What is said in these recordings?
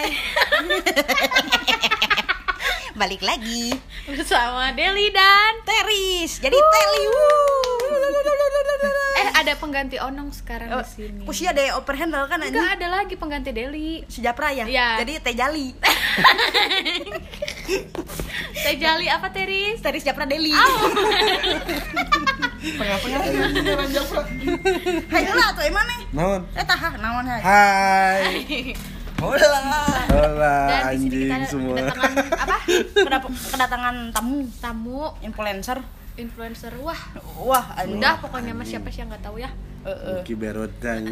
Hai. Balik lagi bersama Deli dan Teris. Jadi Teli. ada pengganti Onong sekarang di sini. Kusia ada overhandle kan anjing. Enggak ada lagi pengganti Deli. Si Japra ya? Iya. Jadi Teh Jali. Teh Jali apa Teris? Teris Japra Deli. Tengah-tengah jalan Japra. Hai lah tuh emang nih. Naon? Tah naon hai. Hai. Hola. Hola Dan di sini anjing kita semua. kedatangan apa? Kedatangan tamu Influencer. Wah, anjing. udah pokoknya mas siapa sih yang nggak tahu ya. Ki berotanya.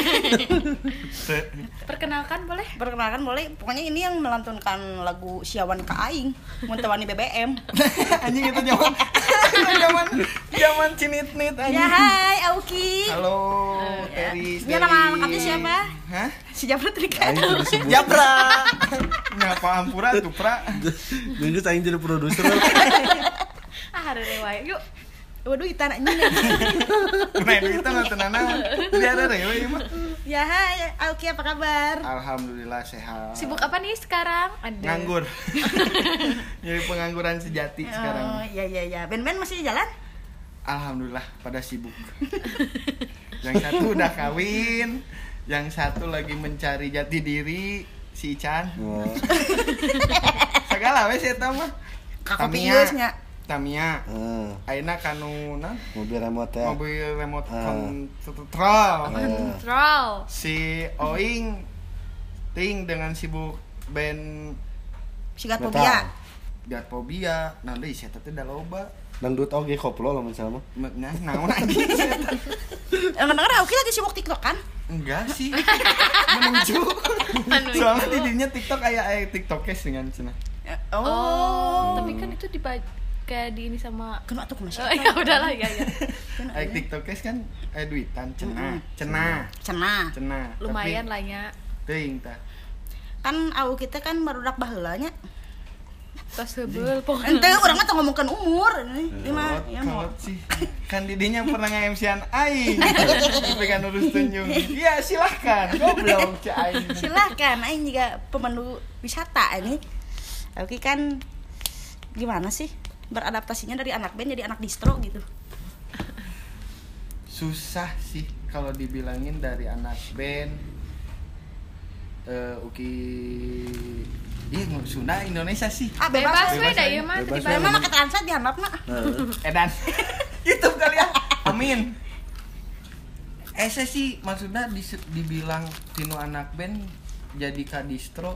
Perkenalkan boleh? Perkenalkan boleh. Pokoknya ini yang melantunkan lagu Siawan ka aing mun teu wani BBM. Anjing itu zaman cinit-nit anjing. Ya hai Auki. Halo, Teris. Ini nama lengkapnya siapa? Hah? Si Japra Trika. Aing sudah disebut. Japra. Ngapa ampura tuh, Pra? Nunggu aing jadi produser. Harere wae yuk. Waduh itan anjing. Nah, kita nontonana. Jadi ada rewe mah. Ya hai Auki, apa kabar? Alhamdulillah sehat. Sibuk apa nih sekarang? Ada. Nganggur. Jadi pengangguran sejati sekarang. Oh, iya. Ben-ben masih jalan? Alhamdulillah pada sibuk. Yang satu udah kawin, yang satu lagi mencari jati diri, si Ican. Oh. Segala wes eta mah. Kakopiusnya. Tamia. Ayeuna kanu Mobil remote ya. mobil remote control. Kontrol. Si Oing ting dengan sibuk band Sigat Metal. fobia. Gatfobia. Nah deui eta teh da loba. Dangdut oge koplo lamun sama. Nah, naon anjing eta? Dengar Auki lagi sibuk TikTok kan? Enggak sih. Menuju. Soalnya di dirinya TikTok kayak TikTok case dengan cenah. Oh, tapi kan itu kayak di ini sama Kena tuh masih. Oh, ya udahlah ya. Kayak TikTok case kan duitan cenah. Cenah. Lumayan lah ya. Teuing tah. Kan Auki teh kan barudak baheula nya. Tos hebeul pokoknya. Ente urang mah teh ngomongkeun umur. Ini mah ya mau. Kalau sih kan didinya pernah nge-MC-an aing. Tapi kan urus tunjung. Iya, silahkan. Goblok cek aing. Silakan aing juga pemandu wisata ini. Auki kan gimana sih beradaptasinya dari anak band jadi anak distro gitu? Susah sih kalau dibilangin dari anak band. Uki Sunda Indonesia sih. Bebas we da ieu mah Bebas tiba Emang make translate dihandap mah. Edan. Gitu kali ya. Amin. Sih maksudnya dibilang tinu anak band jadi ka distro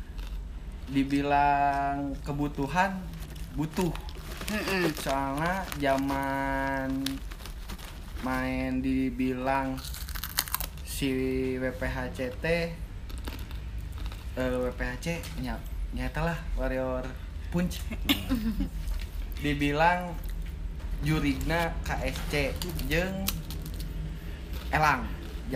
dibilang kebutuhan butuh. Soalnya zaman main dibilang si WPHCT WPHC nyata lah Warrior Punch. Dibilang jurigna KSC jeung Elang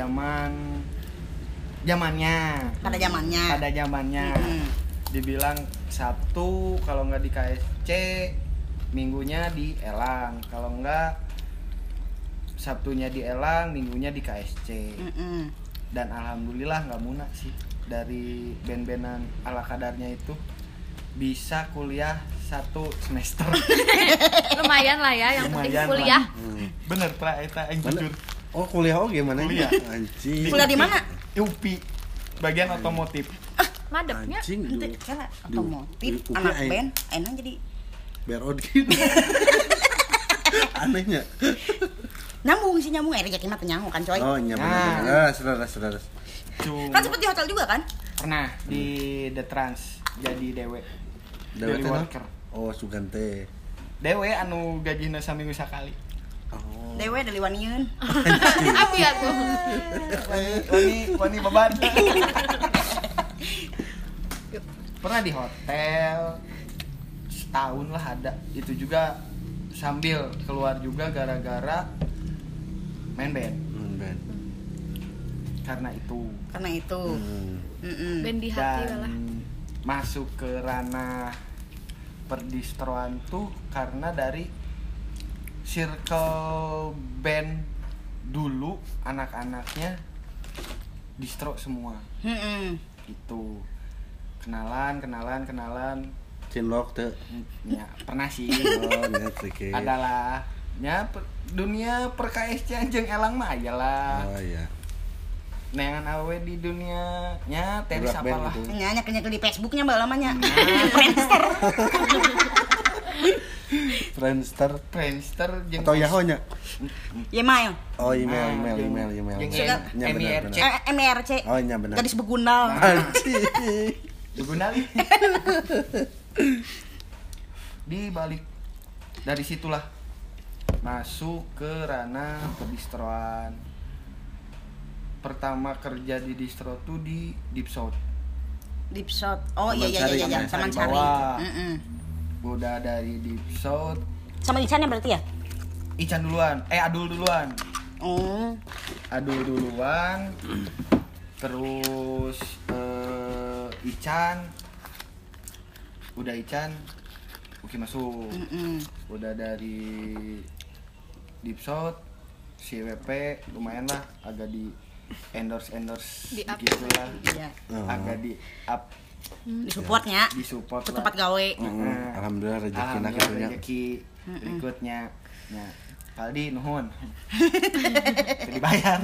zamannya Pada zamannya. Dibilang Sabtu kalau nggak di KSC, minggunya di Elang. Kalau nggak Sabtunya di Elang, minggunya di KSC. Dan alhamdulillah nggak muna sih dari band-bandan ala kadarnya itu bisa kuliah 1 semester. lumayan lah ya, yang penting Lumayan kuliah. Bener pra eta yang jujur. Oh, kuliah oge mana? Kuliah. Anjing. Kuliah di mana? UPI bagian otomotif. Madepnya. Anjing. Ente kan otomotif, Di UPI anak aing. band, enak jadi Berot gitu. Anehnya. nyambung rezeki mah teu nyambung kan coy. Oh, nyaman. Nah. Saudara. Kan sempet di hotel juga kan? Pernah di The Trans jadi dewe. Dewe Daily teh worker. Oh, sugante. Dewe anu gajina saminggu sakali. Oh. Dewe dari waniun. Aku ya tuh. Wani beban. Pernah di hotel setahun lah ada. Itu juga sambil keluar juga gara-gara main band. Ben. Karena itu. Band di hati Dan lah. masuk ke ranah perdistroan tuh karena dari circle band dulu anak-anaknya distro semua. Itu kenalan Cinlok teh. ya pernah sih Oh, nya trike. adalah nya dunia per KSC anjing elang mah aya lah Oh iya. neangan awe di dunia nya teh Budak band sapalah gitu. Nyanyi di Facebooknya mbak lamanya. Friendster jeung atau Yahoo nya? Email. Oh, Jeung email. Nya MIRC benar. MRC. Oh, nya benar. Gadis begunal. Anjing. digunali di balik dari situlah masuk ke ranah perdistroan. Pertama kerja di distro tuh di Dipshot. Dipshot. Oh Taman iya Sari, Taman Sari. bawah. Mm-mm. Udah dari Dipshot, Sama Ican ya berarti ya? Ican duluan, Adul duluan. Oh. Adul duluan. Terus Ican. Udah Ican, Uki masuk. Mm-mm. Udah dari Dipshot, si WP lumayan lah, agak di endorse Di up. gitu lah. Iya. Agak di up, Di supportnya. di support Ke lah. tempat gawe. Alhamdulillah rezeki nak Alhamdulillah katunya. rezeki berikutnya. Nah, Paldi nuhun. Teu dibayar.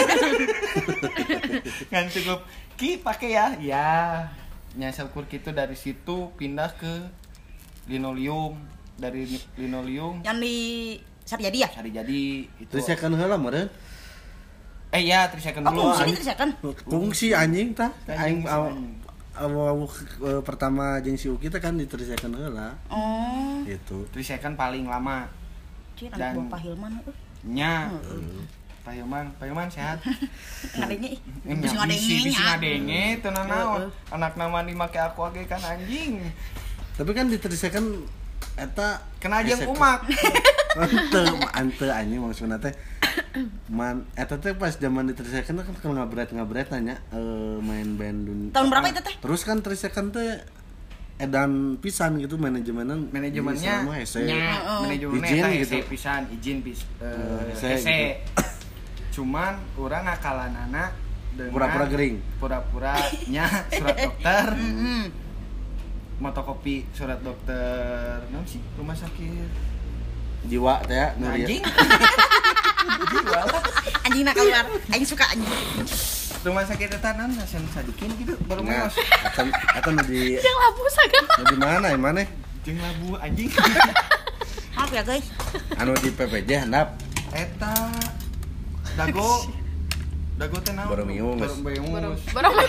Kan cukup ki pakai ya. Ya. Nya syukur kitu dari situ pindah ke linoleum. Dari linoleum Yang di Saryadi ya? cari jadi itu. Terus saya kan heula meureun. Ya, 3 second Oh, dulu. kungsi ini tersekan. Kungsi anjing tah. Anjing, Aing pertama jeung si Uki teh kan diterisekeun heula. Oh. Gitu. 3 second paling lama. Cih, Dan- anak buah Pak Hilman. Nya. Pak Hilman sehat. Ngadengnya ih. Nya, Bisa bisi ngadengnya. ngadenge teu naon. Anak nama dimake aku age kan anjing. Tapi kan diterisekeun eta Kena jeung esek- umak. Ante anjing maksudna teh man eta teh pas zaman diterisekeun kan kalau ngabret nanya main band dunia. Tahun berapa itu teh? Terus kan terisekeun teh edan pisan gitu manajemennya Manajemennya nya manajemennya Izin eta gitu. hese pisan izin Hese hese. gitu. Cuman urang ngakalanana dengan Pura-pura gering. Pura-pura nya surat dokter. Motokopi surat dokter naon sih rumah sakit Jiwa teh ya nu anjing. Jiwa lah. Anjing nak keluar. Aing suka anjing. Rumah sakit eta naon nasen sadikin gitu baru Nah, meos. eta nu di Yang labu sagala. nu di mana ya mana? Jeung labu anjing. Maaf ya guys. Anu di PPJ handap. Eta dago teh naon? Bormius. Bormius.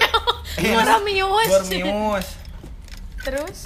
Boramius. Terus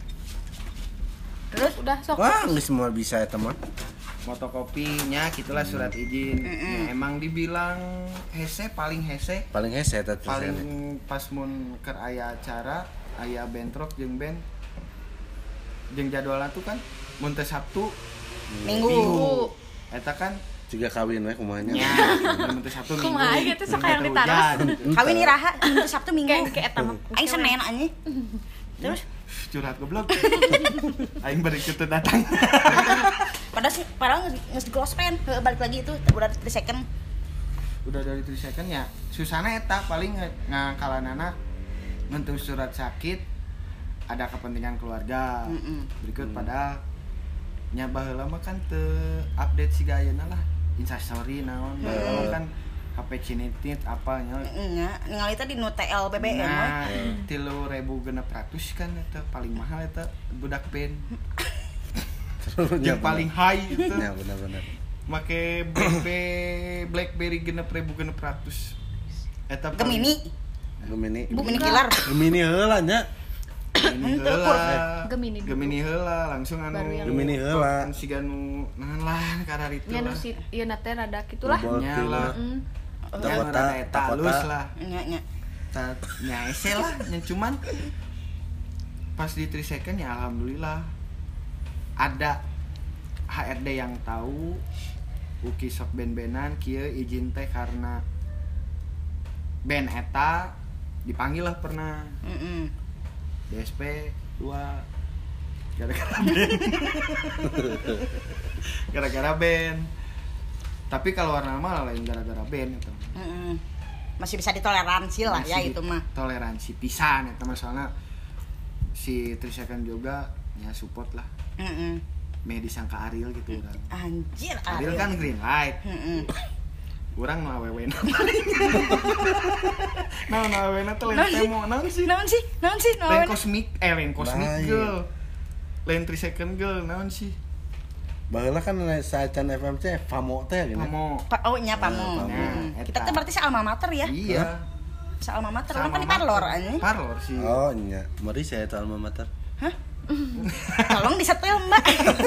udah sok. Wah, geus semua bisa eta mah. Motokopinya gitulah surat izin. Ya, emang dibilang hese paling hese. Paling hese eta teh. Paling pas mun keur aya acara, aya bentrok jeung band. Jeung jadwalna tuh kan mun teh Sabtu Minggu. Eta kan juga kawin we kumaha nya. nya mun teh Sabtu Minggu. Kumaha gitu, sok Mun hayang teh ditaras. hujan. Kawin iraha Minggu Sabtu Minggu. Kayak eta mah. Aing Senin anjing. Terus Curhat goblok. Aing bari kitu datang. padahal geus di close friend. Balik lagi itu udah 3 second. Udah dari 3 second ya susana eta paling ngakalanana ngentu surat sakit ada kepentingan keluarga. Berikut padahal nya baheula mah kan teu update siga ayeuna lah Instastory naon baheula kan HP cinitit apa nya Nya, ningali tadi nu TL BBM we. nah 3.600 kan eta paling mahal eta budak band yang paling high itu Ya benar-benar. make BlackBerry 6.600 eta Gemini. Gemini Killer. Gemini heula nya. Gemini heula langsung anu Baru yang- Gemini heula. kan siga nu naon lah karar itu Nya nu lah si ieu na teh rada kitulah. Bobot nyala Heeh. Takota, eta halus lah Nya. nya ese lah nya cuman pas di 3 second ya alhamdulillah ada HRD yang tahu Uki sok ben-benan kieu izin teh karena band eta dipanggil lah pernah DSP 2 gara-gara band gara-gara band tapi kalau warna mah lain gara-gara band itu masih bisa ditoleransi lah ya Masih itu mah. toleransi pisan eta mah soalna si 3 Second juga ya support lah. Meh disangka Ariel gitu urang. Anjir, Ariel kan green light. Urang nu awewe na. Naon awewena teh lain temo naon sih? Naon sih? Lain kosmik Baik. girl. Lain 3 Second girl naon sih? Baheula kan saacan FMC Famo teh gini. Pamo. Oh nya Pamo. Nah, Kita eta. tuh berarti sa alma mater ya. Iya. Sa alma mater. Orang Sama kan di Parlor anjing. Parlor sih. Oh nya, mari saya tahu alma mater. Tolong disetel, Mbak.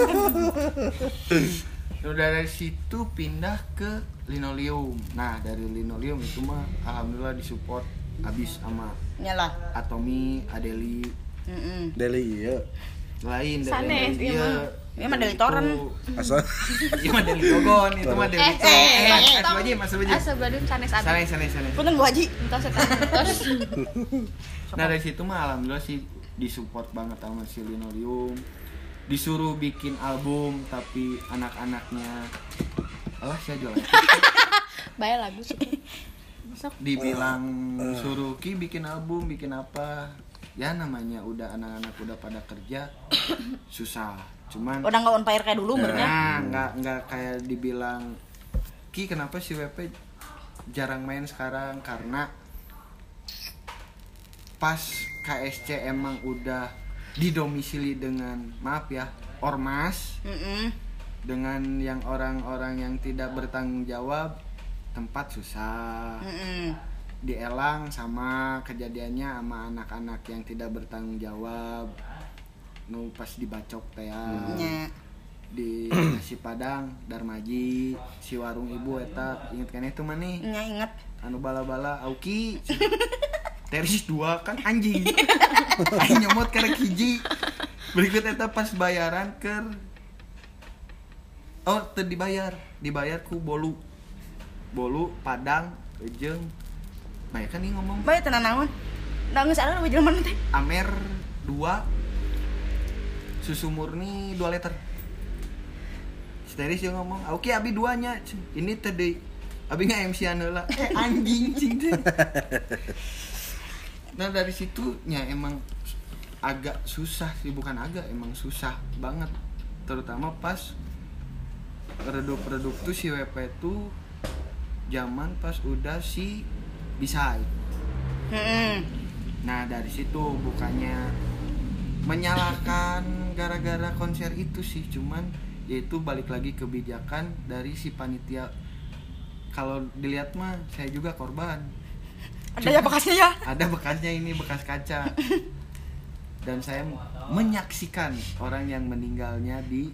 Udah dari situ pindah ke linoleum. Nah, dari linoleum itu mah alhamdulillah disupport abis sama Nyalah. Atomi, Adeli. Deli ieu. Lain Sanes, dari iya mah. Iya mah Deli Toren. Asal Iya mah Deli Gogon, itu mah Deli Asal aja, masuk aja. Asa badun sanes abi. Sanes. Punten Bu Haji. Entos eta. Entos. Nah, dari situ mah alhamdulillah sih disupport banget sama si linoleum. Disuruh bikin album tapi anak-anaknya alah saya jual. Bae lagu. Dibilang suruh Ki bikin album, bikin apa? Ya namanya udah anak-anak udah pada kerja susah. Cuman Udah enggak on fire kayak dulu bener. nggak kayak dibilang Ki kenapa si WP jarang main sekarang karena pas KSC emang udah didomisili dengan maaf ya ormas dengan yang orang-orang yang tidak bertanggung jawab tempat susah. Di Elang sama kejadiannya sama anak-anak yang tidak bertanggung jawab nu pas dibacok teh ya. Di nasi Padang Darmaji si warung ibu eta inget kan itu mah nih Nya inget. anu bala-bala Auki teris 2 kan anjing aing nyomot karek hiji berikut eta pas bayaran keur teu dibayar ku bolu Padang jeung bae kan ieu ngomong Bae tenan naon? Da geus ada jelema teh. Amer 2 susu murni 2 liter. Steris yang ngomong, "Oke, abi 2 nya." Ini tadi abi nggak MC heula. Anjing cing teh. Nah, dari situ nya emang agak susah sih, bukan agak, emang susah banget. Terutama pas redup-redup tuh si WP tuh zaman pas udah si Bisai. Nah, dari situ bukannya menyalahkan gara-gara konser itu sih, cuman yaitu balik lagi kebijakan dari si panitia. Kalau dilihat mah saya juga korban. Ada ya bekasnya ya? Ada bekasnya, ini bekas kaca. Dan saya menyaksikan orang yang meninggalnya di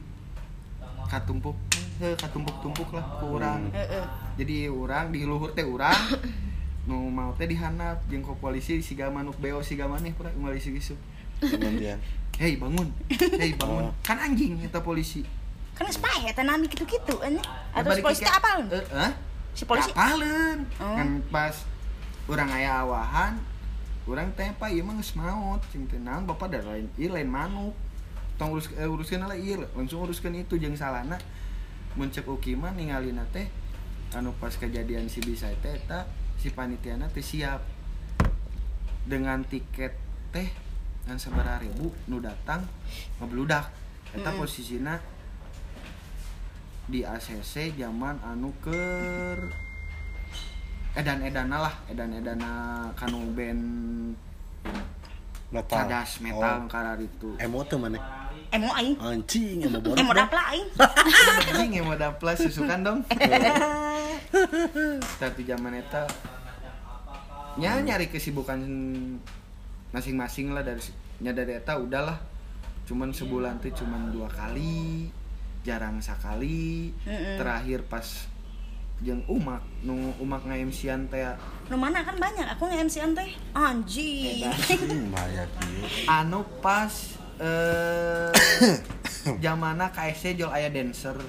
katumpuk-tumpuk lah ke urang. Jadi urang di luhur teh urang nu mau teh dihanap jeung ku polisi siga manuk beo siga maneh pura unggal isi gisu. kemudian Hei bangun. Kan anjing eta polisi. Kan spy eta nami kitu-kitu anjing. Atau si Balik polisi teh ke- apal? Si polisi apaleun. Oh. Kan pas urang aya awahan, urang teh pa ieu mah geus maot, cing teh naon bapak da lain, ieu lain manuk. Tong uruskeun lah ieu, langsung uruskeun itu jeung salana. Mun ceuk uki mah ningalina teh anu pas kejadian si Bisai teh eta si panitiana teh siap dengan tiket teh dan sabaraha ribu nu datang ngebludak. Eta posisina di ACC zaman anu keur edan-edana kanu band metal cadas metal karar itu. emo tuh mana emo aing. anjing emo boros Emo dapla aing. Anjing yang mau daplas susukan dong. Tapi zaman eta nyari kesibukan masing-masing lah dari eta udahlah. Cuman sebulan tuh cuman 2 kali, jarang sekali. Terakhir pas jeung umak nge-MC-an teh Nu mana kan banyak aku nge-MC-an teh. Anjing. banyak ieu anu pas zamana KSC jual aya dancer.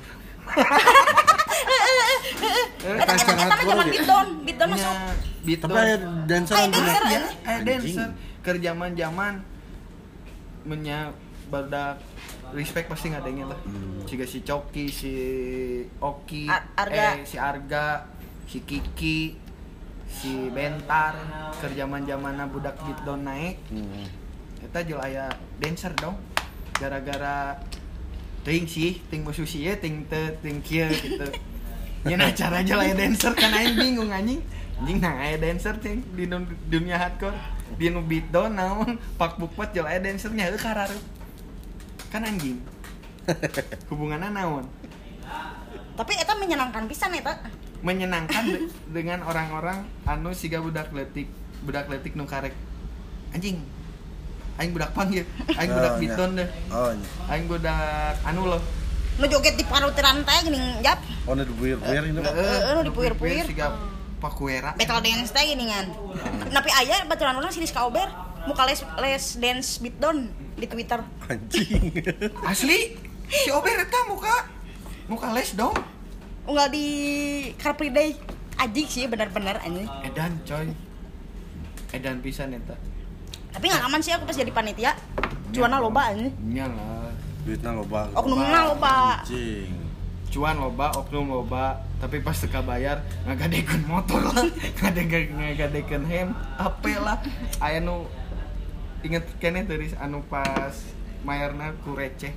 Eta mah zaman beatdown masuk. Beatdown. tapi ada dancer Aya yang dancer, punya- ya? Aya dancer. Keur zaman-zaman menya badak respect pasti ngadengnya lah. Siga si Coki, si Oki, Arga. si Arga, si Kiki, si Bentar keur zaman-zamanna budak beatdown naik. Eta jual aya dancer dong. Gara-gara ting sih, ting musuh sih ya, ting kieu gitu. Nya acara jual aya dancer kan aing bingung anjing. Anjing nah aya dancer ting di dunia hardcore. Di nu beatdown naon pak bukpet jual aya dancer nya heuh karareup. Kan anjing. Hubunganna naon? Tapi eta menyenangkan pisan eta. Menyenangkan dengan orang-orang anu siga budak leutik nu karek anjing aing budak pang ya aing budak beatdown deh aing budak anu loh Nu joget di parutiran teh geuning jap. Oh nu dipuyer-puyer ini. Nu dipuyer-puyer siga pakuera battle dance teh geuningan. Tapi aya baturan urang si Rizka Ober muka les dance beatdown di Twitter. Anjing. asli si Ober eta muka les dong Unggal di Car Free Day. Ajik sih benar-benar anjing. edan coy edan pisan eta Tapi enggak aman sih aku pas jadi panitia. Cuana loba anjing. nya lah Duitna loba. Oknumna loba. Anjing. cuan loba oknum loba tapi pas teka bayar ngagadekeun motor lah ngagadekeun hem HP lah aya nu inget keneh teuris anu pas mayarna ku receh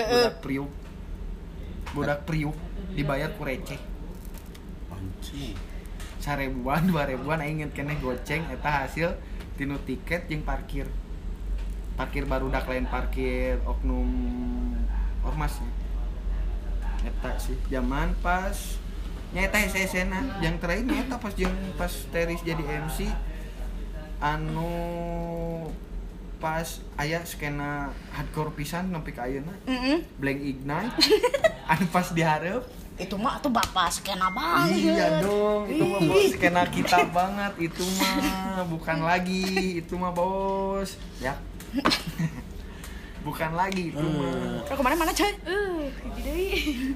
budak priuk dibayar ku receh Anjing. 1000-an 2000-an aing inget keneh goceng eta hasil tinu tiket jeung parkir barudak lain parkir oknum ormas eta sih zaman pas nyata SSN yang terakhir nyata pas Teris jadi MC anu pas aya skena hardcore pisan nepi ka ayeuna Blank Ignite anu pas dihareup Itu mah tuh bapak skena banget. iya dong itu mah bos skena kita banget itu mah bukan lagi itu mah bos ya bukan lagi itu mah Kalau kemarin mana coy? Hiji deui.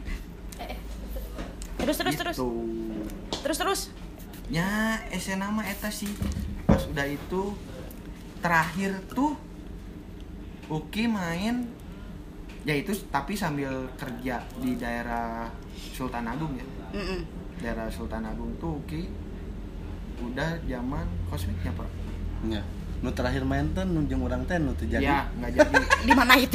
Terus. Gitu. Terus. Ya SNA mah eta sih pas udah itu terakhir tuh Uki main ya itu tapi sambil kerja di daerah Sultan Agung ya daerah Sultan Agung tuh Uki udah zaman kosmiknya Pak Nya. Nu terakhir main teh nu jeung urang teh nu teu jadi. ya nggak jadi Di mana itu?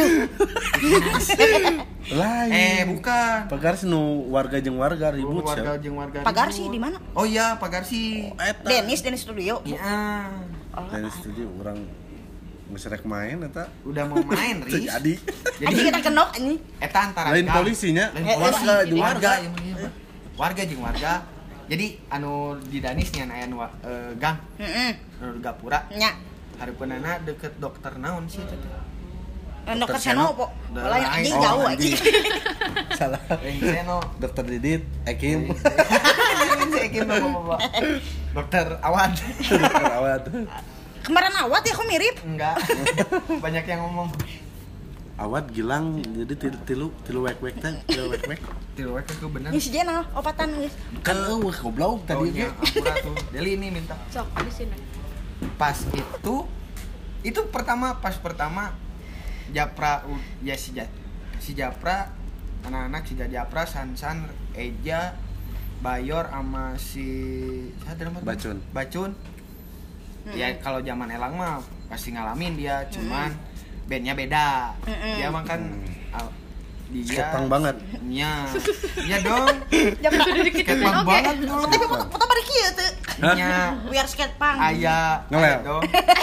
Lain. Bukan Pagar nu warga jeung warga ribut warga sia. jeung warga Pagar ribut. sih di mana? Oh iya Pagarsi Eta. Dennis Studio. ya Dari studio urang geus rek main eta. udah mau main Teu Riz jadi. jadi Anjing kita kenok anjing. eta antara Lain gang. polisinya. Lain Warga polisi jeung warga warga. yang mana ya, Pak? Warga jeung warga jadi anu di Danis nya aya nu gang anu di Gapura Nya. hareupeunana deket dokter naon sih eta teh Dokter Seno po. Dah, Lain anjing oh, jauh anjing. anjing. Salah. Lain Seno Dokter Didit, Ekim. saya kira bapak dokter Awan Dokter Awad. Kemarin awat ya kok mirip. enggak banyak yang ngomong Awad Gilang jadi tilu wek-wek teh, tilu wek-wek. tilu wek itu bener Ini si Jenal opatan guys. Kan eueuh goblok oh tadi iya ge. ampura tuh Deli ini minta Sok di sini. pas itu pertama Japra ya si Japra anak-anak si Japra Sansan Eja Bayor sama si siapa namanya? Bacun ya kalau zaman Elang mah pasti ngalamin dia cuman bandnya beda dia mah kan dia Skepang banget. Iya dong skepang Oke. banget dulu Tapi foto bari kieu teu. nya We are skate punk. aya Ngelel. dong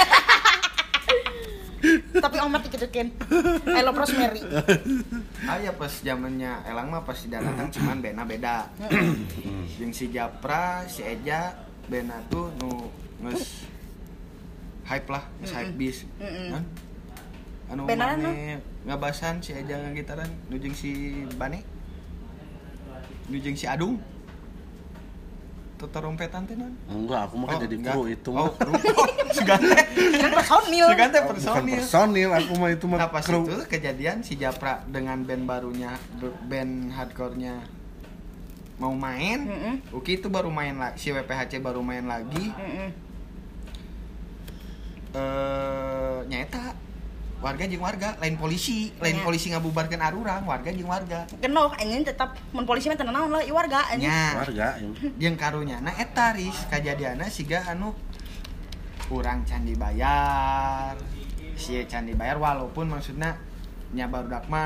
Tapi omat dikedekeun. I love Rosemary. aya pas zamannya Elang mah pas dia datang cuman bena beda jeung si Japra si Eja bena tuh nu geus hype lah geus hype bis kan anu Beneran, mane ngabasan si Eja ngagitaran nu jeung si Bane nu jeung si Adung terompetan teh non Enggak, aku mah kan jadi kru itu mah. oh kru segante Kan personil. segante Bukan personil personil, aku mah itu mah nah pas kru. itu kejadian si Japra dengan band barunya band hardcore-nya mau main Uki itu baru main lagi si WPHC baru main lagi nyata warga jeung warga lain polisi ngabubarkeun arurang warga jeung warga Genoh anjeun tetap mun polisi mah teu naon lah ieu warga anjeun. nya Warga. jeung karunyana eta ris kajadianna siga anu urang can dibayar si can dibayar walaupun maksudna nya barudak mah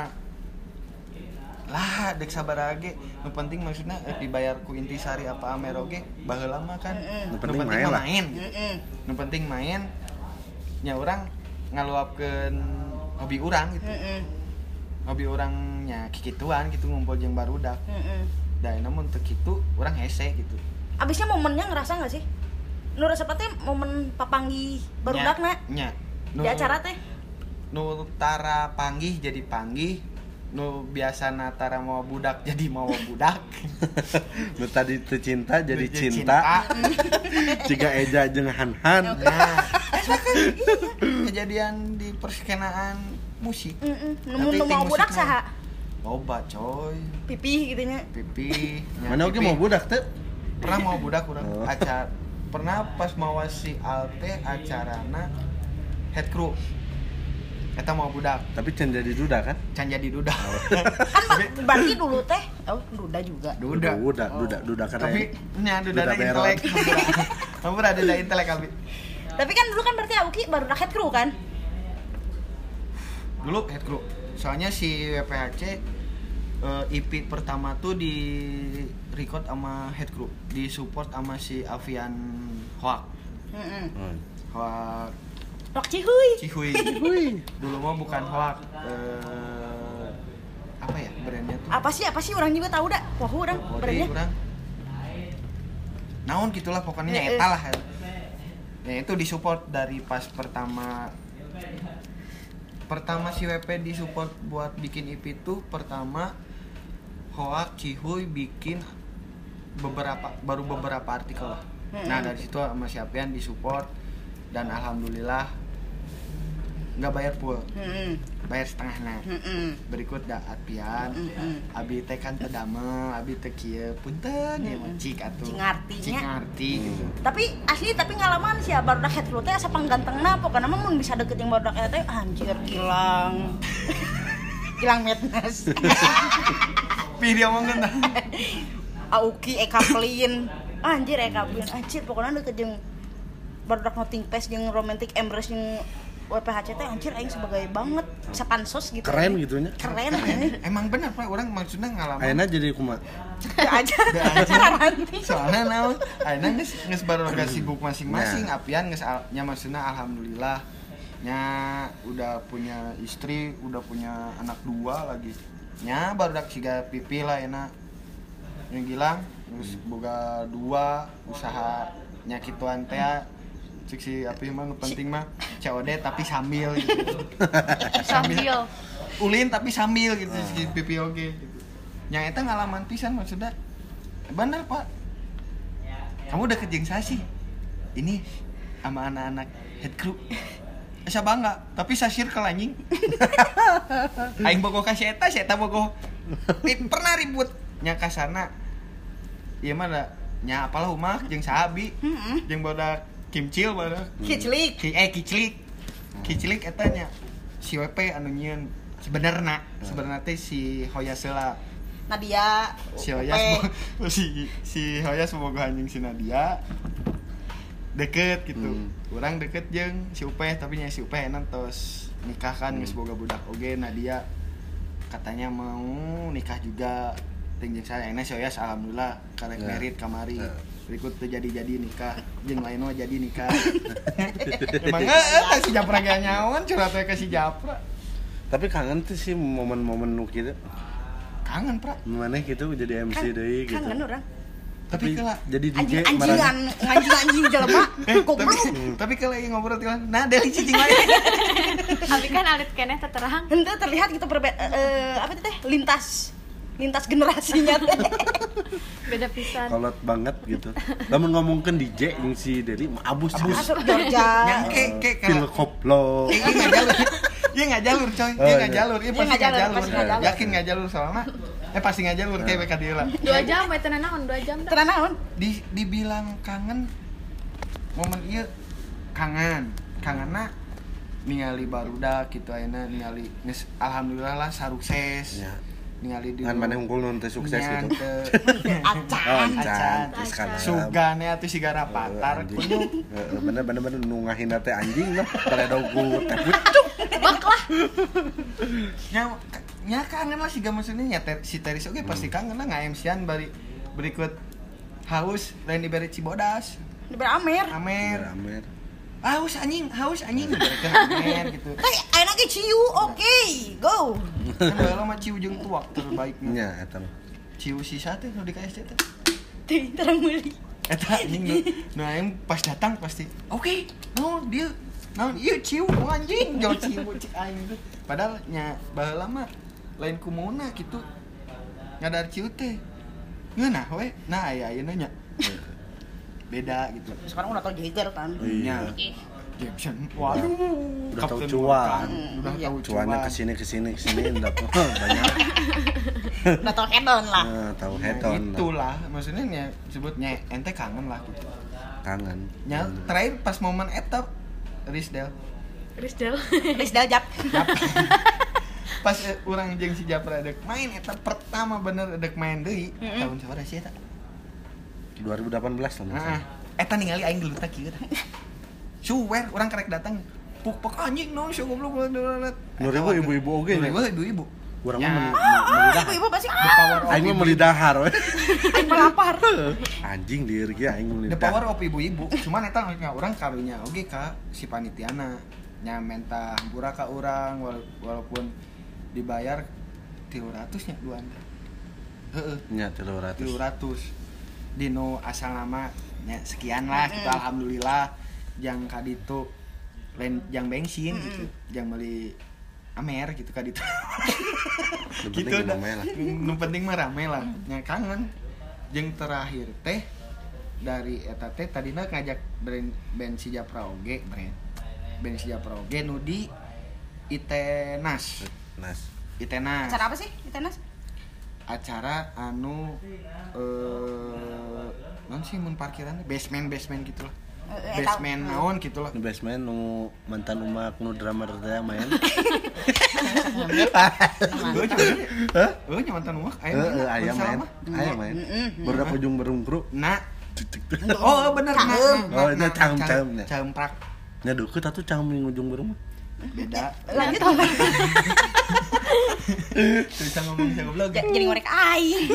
lah dek sabaraha ge nu penting maksudna dibayar ku intisari apa amer oge baheula mah kan Nu penting main lah. nu penting main nya urang ngaluapkeun hobi urang gitu hobi urangnya kikituan gitu ngumpul jeung barudak da namun teu kitu urang hese gitu Abisnya momennya ngerasa nggak sih? Nu resep teh momen papanggih barudakna nya di acara teh. Nu tara panggih jadi panggih, nu biasa tara mau budak jadi mau budak. Nu tadi teu cinta jadi cinta. Ciga Eja jeung Han-Han. Nah, kejadian di perskenaan musik. Nu mau budak saha? Loba coy. Pipih gitunya. Pipi. Mana oge mau budak teh? Pernah mau budak urang. Oh. Acara pernah pas mau si Alte acarana head crew. Eta mau budak. Tapi can jadi duda kan? Can jadi duda. Kan berarti dulu teh duda juga. Duda karena Tapi nya duda intelek. Kamu ada duda intelek abi. Tapi kan dulu kan berarti Auki baru head crew kan? Dulu head crew. Soalnya si WPHC EP pertama tuh di record sama head crew, di support sama si Avian Hoak. Hoak Rok Cihuy. Cihuy. Dulu mah bukan Hoak. Apa ya brandnya tuh? Apa sih orang juga tahu dah. Wah, orang brandnya. Urang. Naon gitulah pokoknya eta lah. Ya itu disupport dari pas pertama si WP disupport buat bikin EP itu pertama Hoak Cihuy bikin beberapa artikel lah. Nah dari situ sama si Apian disupport dan alhamdulillah nggak bayar full, bayar setengahnya. Berikut da Apian, abi teh kan teu damel, abi teh kieu punten ya mah cik atuh. Cik ngarti gitu. Tapi ngalaman sih ya barudak head crew teh asa panggantengna pokona mah mun bisa deket jeung barudak eta teh anjir kilang. Kilang madness. Video mongkeun tah. Auki Ekaplin. Anjir Ekaplin. Anjir pokona deket jeung barudak Nothing Face jeung Romantic Embrace jeung WPHC teh anjir aing sebagai banget bisa pansos gitu. Keren gitunya. Keren ini. Emang bener Pak, orang maksudnya ngalaman. Ayeuna jadi kumaha? aja. Soalnya naon? Ayeuna geus baru sibuk masing-masing. Apian geus nya maksudna alhamdulillah nya udah punya istri, udah punya anak 2 lagi. Nya barudak siga pipi lah enak. Yang gilang terus boga 2 usaha nya kituan teh cik si api mah penting mah COD tapi sambil gitu. Sambil Ulin tapi sambil gitu si pipi oge gitu. Yang eta ngalaman pisan maksudnya. Bener Pak. Kamu udah jeung saya sih. Ini sama anak-anak head crew. Asa bangga, tapi sa circle anjing. Aing bogoh ka si eta bogoh. Pernah ribut nya kasarna. Ieu mah da nya apalah umah jeung sahabi. Jeung bodak Kimcil baru. Kiclik. Kiclik eta nya si WP anu nyieun sebenarnya teh si Hoyasela Nadia. si Hoyas si Hoyas boga anjing si Nadia deket gitu. Urang deket jeung si Upeh tapi nya si Upeh enak tos nikah kan geus boga budak oge. Nadia katanya mau nikah juga ting jeung saya. Enak si Hoyas alhamdulillah karek merit kamari. Berikut tuh jadi nikah, jeung lain mah jadi nikah. Emang eta si Japra ge nyaon curhat we ka si Japra. Tapi kangen tuh sih momen-momen nu kitu. Kangen, Pra. Maneh gitu jadi MC deui gitu. Kangen orang. Tapi kala jadi DJ anjing jelema. Goblok. Tapi kalau lagi ngobrol tuh, nah dari cicing lain. Abi kan alit keneh terang. Henteu terlihat gitu apa itu teh lintas generasinya teh. Beda pisan. Kolot banget gitu. Lamun ngomongkeun DJ jeung si Deli mah abus. Masuk Georgia. Yang kayak Pil koplo. Iya nggak jalur coy, iya nggak jalur, iya pasti nggak jalur. Yakin nggak jalur soalnya, pasti nggak jalur kayak mereka dia lah. 2 jam, tenan naon 2 jam. Tenan naon? Dibilang kangen, momen iya kangenna ningali barudak gitu ayeuna ningali geus alhamdulillah lah sukses. Ya. Ningali di Ngan maneh unggul nun teh sukses gitu. Acan. Acan terus kan. Sugane atuh siga rapatar kunyuk. Bener nu ngahina teh anjing lah. Baledog ku teh pucuk. Nya kangen lah siga maksudnya nya si Teris oge pasti kangen lah nga-MC-an bari berikut haus lain diberi Cibodas. Diberi Amer. Amer. Haus anjing diberikan Amer gitu. Ayeuna ge ciu, oke, go. Kan baheula mah ciu jeung tuak terbaiknya. Nya eta. Ciu sisa teh nu di KSC teh. Teh terang meuli. Eta anjing nu aing pas datang pasti oke, naon dia naon ieu ciu anjing jauh ciu cik aing teh. Padahal nya baheula mah lain kumaha kitu. Ngadar ciu teh. Ngeunah we. Nah aya ayeuna nya. Beda gitu. Sekarang udah tau Jagger kan. Nya. Jackson. Waduh. Udah tahu Kapten cuan. Vulkan. Udah tahu Cuannya kesini udah banyak. Udah tau hedon lah. Tahu heton. Itulah maksudnya nya sebutnya ente kangen lah gitu. Kangen. Nya terakhir pas momen eta Risdel. Risdal Jap. Pas urang jeung si Japra dek main eta pertama bener dek main deui tahun sabaraha sih eta? 2018 lah Heeh. Eta ningali aing geuleuh teh kieu tah. Suwer urang karek datang. Puk anjing no si goblok. Nu ibu-ibu oge nya. Ibu-ibu. Urang Ya. mah melidah. Ibu pasti The power of Aing mah ibu. melidahar we. aing melapar. Anjing lieur ge aing The melidah. power of ibu-ibu. Cuman eta nya urang karunya oge ka si panitiana. Nya menta hampura ka urang walaupun dibayar 300 nya duan. Heeh. Nya 300. 300. Dino asal nama nya sekian lah gitu alhamdulillah jang kaditu lain jang bensin gitu jang beli Amer gitu kaditu gitu dah nu penting mah rame lah nya kangen jeung terakhir teh dari eta teh tadina ngajak band si Japra oge band si Japra oge nu di Itenas Acara apa sih? Itenas? acara anu non sih mun parkiran basement gitu lah basement naon gitu lah Nu basement nu mantan umak nu drummer teh main. gue nyamantan umak Aya main. Baru ujung berungkru. nah oh bener Oh, nya caem nya. caemprak Nya deukeut atuh caem ning ujung berung. beda Lanjut apa? bisa ngomong saya goblok Jadi ngorek aing.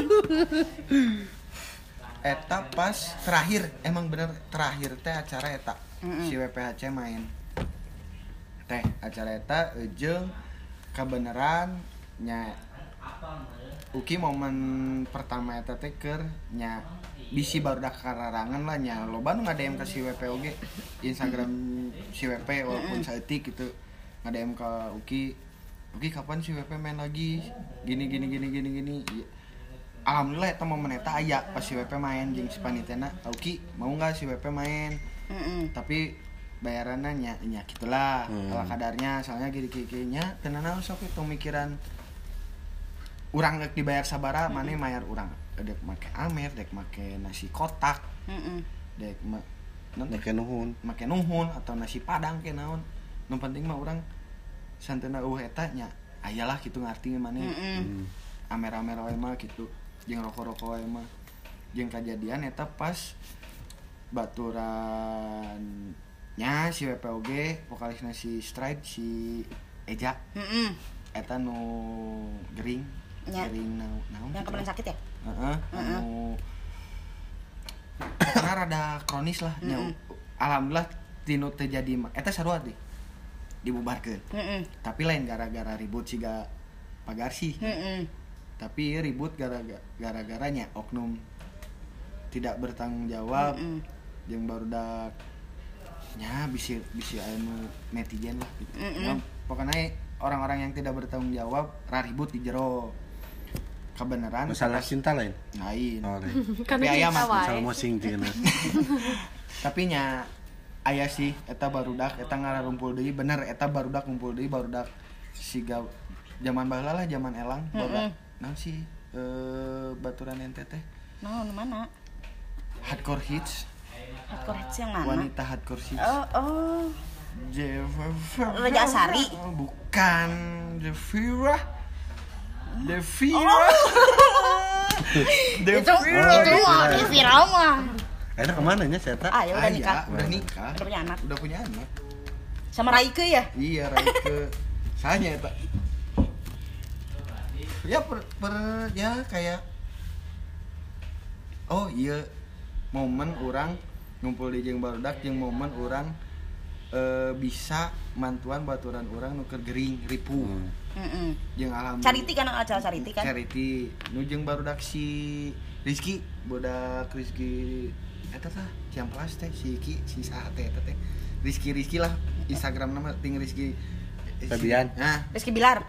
eta pas terakhir emang bener terakhir teh acara eta si WPHC main teh acara eta jeung kabeneran nya uki momen pertama eta teh keur nya bisi barudak kararangan lah nya loba nu ngadem ka si WP oge Instagram si WP walaupun saeutik gitu ngadem ka uki kapan si WP main lagi gini alhamdulillah eta momen eta aya pas si WP main jeung si panitiana Uki mau enggak si WP main tapi bayarannya nya gitulah ala kadarnya soalnya gini-gini nya teu naon sok itu mikiran urang rek dibayar sabaraha maneh mayar urang dek make Amer dek make nasi kotak dek Make nuhun atau nasi padang ke naon nu penting mah urang santena eta nya ayalah kitu ngarti maneh Amer-amer wae mah kitu jeung rokok-rokok wae mah jeung kajadian eta pas baturan nya si WPOG vokalisna si Stride si Eja eta nu gering naon Yang kemarin sakit ya? anu karena rada kronis lah nya alhamdulillah tinu teu jadi eta sarua deh dibubarkeun tapi lain gara-gara ribut siga pagarsi tapi ribut gara-garanya oknum tidak bertanggung jawab yang barudak nya bisi anu netizen lah gitu ya, pokoknya orang-orang yang tidak bertanggung jawab ribut di jero kebenaran masalah cinta lain tapi aya mah masalah mosing cenah tapi nya aya sih eta barudak eta ngararumpul deui bener eta barudak ngumpul deui barudak siga zaman baheula lah zaman elang barudak naon sih baturan ente teh naon mana hardcore hits yang mana wanita hardcore hits Raja Asari. Bukan Devira. Itu mah viral mah. Enak kemana nya saya tak? Ah ya udah nikah. Udah nikah. Udah punya anak. Anak. Sama Raike ya? Iya, Raike. Sanya eta. Ya ya kayak oh iya momen orang ngumpul di jeung barudak jeung momen orang bisa mantuan baturan orang nuker gering ripu. Jeung alhamdulillah. Cariti kan acara cariti kan? Cariti nu jeung barudak si Rizky, bodak Rizky eta tah Ciamplas teh si Ki si saha teh eta teh. Rizky lah Instagram nama ting Rizky Fabian. Nah, Rizky Bilar.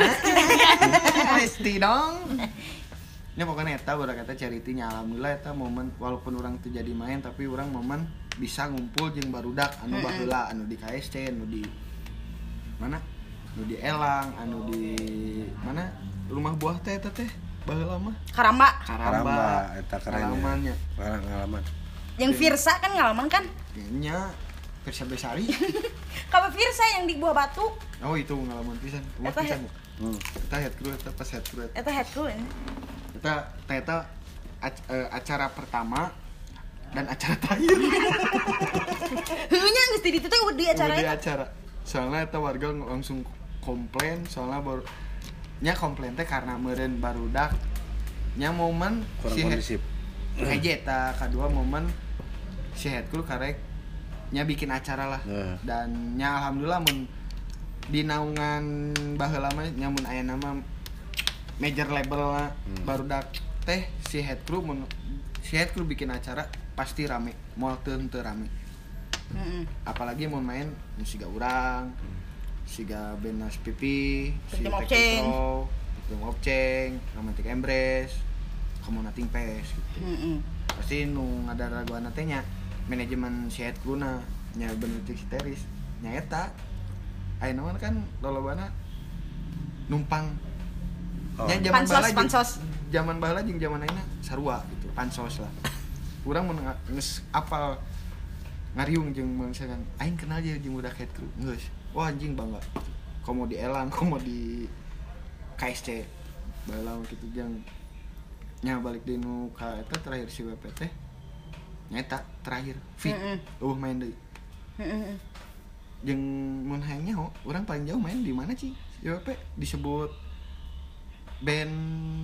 Rizky dong. Ya pokoknya eta udah kata caritinya alhamdulillah eta momen walaupun orang tuh jadi main tapi orang momen bisa ngumpul jeung barudak anu baheula anu di KSC anu di mana? Anu di Elang, anu di mana? Rumah buah teh eta teh baheula mah. Karamba eta keren. Ngalamannya. Pengalaman. Yang Firsa kan ngalaman kan? Nya Firsa Besari. Kamu Firsa yang di Buah Batu. Oh itu pengalaman pisan. Rumah Eta pisan. Kita head crew eta pas head crew. Eta head crew ini. Eta acara pertama dan acara terakhir. Heunya geus di ditu teh di acara Di eta. acara. Soalnya eta warga langsung komplain soalnya baru nya komplain teh karena meureun barudak nya momen Kurang kondisif. Kayak eta kedua momen si head crew karek nya bikin acara lah. Dan nya alhamdulillah mun di naungan baheula mah nya mun aya nama major label barudak teh si head crew bikin acara pasti rame, moal teu rame. Apalagi mau main siga urang, siga Benas Pipi, si Tim Opceng, Romantic Embrace, Kamu Nothing Pes gitu. Pasti nu ngadaraguan teh nya manajemen si head crew na nya bener si Teris nya eta ayeuna kan lolobana numpang. Nya pansos. Zaman baheula jeung zaman ayeuna sarua gitu, pansos lah. Urang mun geus apal ngariung jeung misalkan aing kenal je jeung budak head crew. Geus. Wah anjing bangga. Komo di Elang, komo di KSC. Baheula kitu jeung nya balik di nu ka eta terakhir si WPT. Nya eta terakhir fit. Main deui. Jeung mun hayang nyaho, urang paling jauh main di mana sih? Di WP disebut band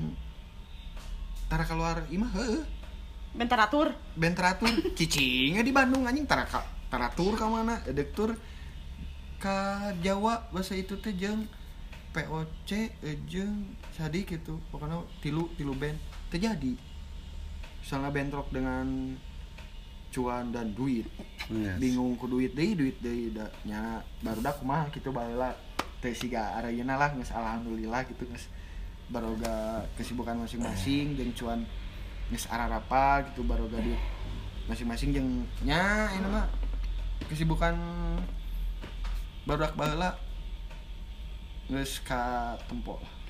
Tara keluar imah heueuh. Band Taratur. Cicingnya di Bandung anjing Taratur ka mana? Edek tur ka Jawa bahasa itu teh jeung POC jeung sadi gitu. Pokoknya tilu band terjadi. Soalnya band rock dengan cuan dan duit. Yes. Bingung ku duit deui nya barudak kumaha kitu baheula teh siga areuna lah geus alhamdulillah gitu geus baroga kesibukan masing-masing jeung cuan geus ararapa gitu baroga duit masing-masing jeung nya ini mah kesibukan barudak baheula geus ka tempo lah.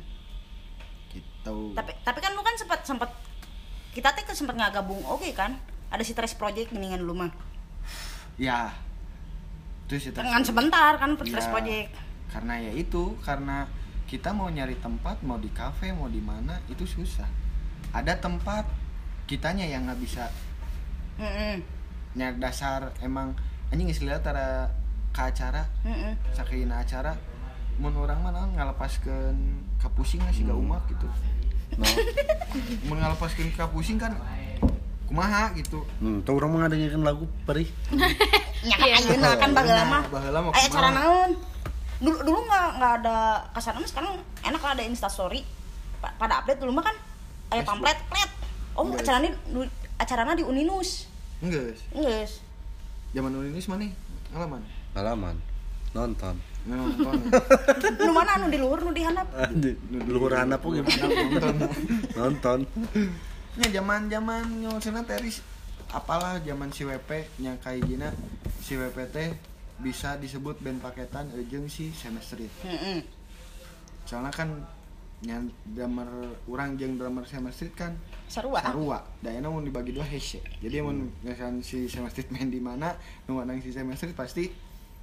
Gitu. Tapi kan lu kan sempat kita teh sempat ngagabung oke kan? Ada si Tres Project mendingan lu mah. Ya. Terus itu kan sebentar kan Tres Project. Karena ya itu, karena kita mau nyari tempat, mau di kafe, mau di mana itu susah. Ada tempat kitanya yang nggak bisa. Nya dasar emang anjing geus lihat tara ka acara. Sakeuna acara mun urang mah ngalepaskeun ka pusing sih gak umak gitu. No. Mun ngalepaskeun ka pusing kan kumaha gitu. Tuh urang mah ngadengeun lagu perih. Nya kan ayeuna kan baheula mah. Aya acara naon? Dulu nggak ada kasarnya, sekarang enak lah ada Instastory pada update. Dulu mah kan ada pamflet acaranya di Uninus. Enggak. Zaman Uninus mana? Ngalaman. Nonton. Nu mana anu di luhur nu di handap? Di luhur handap oge nonton. Nya zaman nyosena teris apalah zaman si WP nya kayak si WP teh bisa disebut band paketan jeung si Semestrit. Soalnya kan nya drummer urang jeung drummer Semestrit kan sarua. Da enak mun dibagi dua hese. Jadi mun misalkan si Semestrit main di mana, nu menang si Semestrit pasti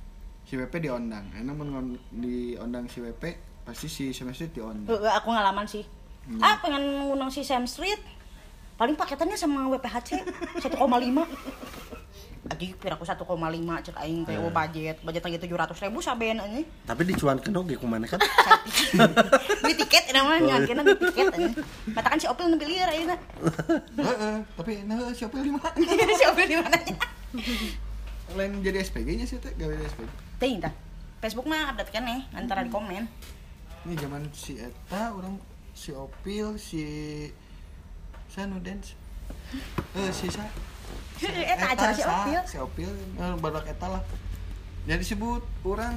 si WP diondang. Enak mun diondang si WP pasti si Sam Street diondang. Aku ngalaman sih. Pengen ngundang si Sam Street. Paling paketannya sama WPHC 1,5. Adik piraku 1,5 cek aing teh budget lagi 700.000 saben anjing. Tapi dicuankeun oge kumaha kan? Beli tiket namanya nyankeun beli tiket anjing. Matakan si Opil nempi lieur ayeuna. Tapi si Opil di mana? Si Opil di mana nya? Lain jadi SPG-nya sih teh, gawe SPG. Teuing tah. Facebook mah update kan antara di komen. Ini zaman si eta orang si Opil si Sanu dance. Si Sa. Eta acara si Opil. Si Opil badak eta lah. Jadi disebut orang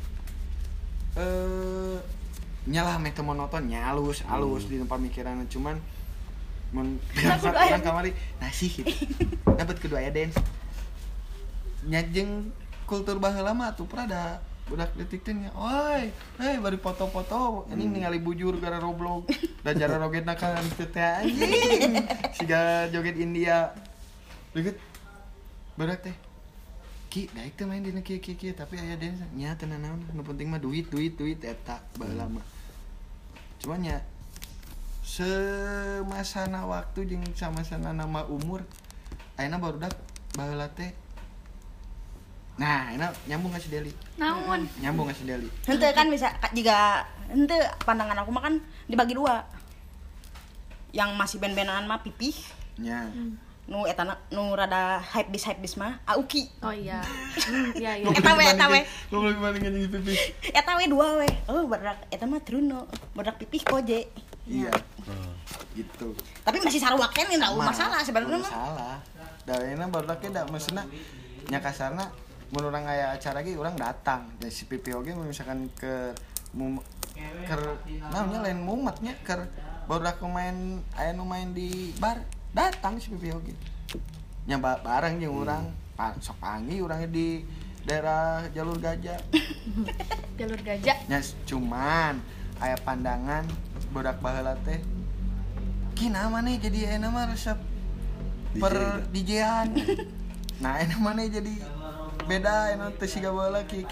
nyalah meh teu monoton halus di pamikiran cuman mun orang kamari nasi gitu. Dapat kedua aya dance. Nyajeng kultur baheula mah atuh prada budak detik teh nya. Oi, bari foto-foto ini ningali bujur gara Roblox dan cara rogetna kan teh anjing. Siga joget India. Deket badak teh ki daek teh main dina kieu tapi aya dance nya teu naon nu penting mah duit eta baheula mah cuman nya semasana waktu jeung samasana nama umur ayeuna barudak baheula teh nah enak nyambung ka si Deli Naon? nyambung ka si Deli Henteu kan bisa jika henteu pandangan aku mah kan dibagi dua yang masih ben-benan mah pipih nya nu eta nu rada hype bis mah Auki. Oh iya. Iya. Eta we. Lu lebih bandingin jeung pipi. Eta we dua we. Oh, badak eta mah Truno. Badak pipih Koje. Iya. Gitu. Tapi masih sarua kan enggak masalah sebenarnya mah. Masalah. Daweuna barudak ge da maksudna nya kasarna mun urang aya acara ge urang datang. Dan si pipi oge misalkan ke naonnya lain mumetnya keur barudak main aya nu main di bar datang si pipi oge nya bareng jeung urang sok panggil urangnya di daerah jalur gajah nya cuman aya pandangan budak baheula teh kina maneh jadi ayeuna mah resep per DJ-an nah ayeuna maneh jadi beda ayeuna teh siga baheula ki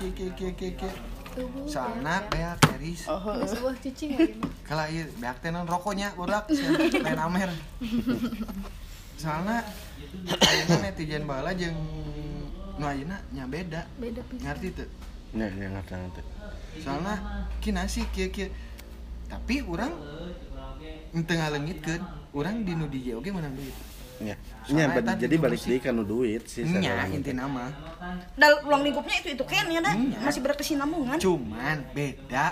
soalna beak Eris sebuah cicing lagi kalau ieu beak teh non rokoknya budak lain amer soalna ayeuna netizen baheula jeung nu ayeuna nya beda pisan ngarti teu nya ngarti soalna kina sih kieu tapi urang teu ngaleungitkeun urang di nu DJ oge meunang duit nya jadi balik deui ka nu duit sih nya intina mah Ruang lingkupnya itu kan ya dah masih berkesinambungan. Cuman beda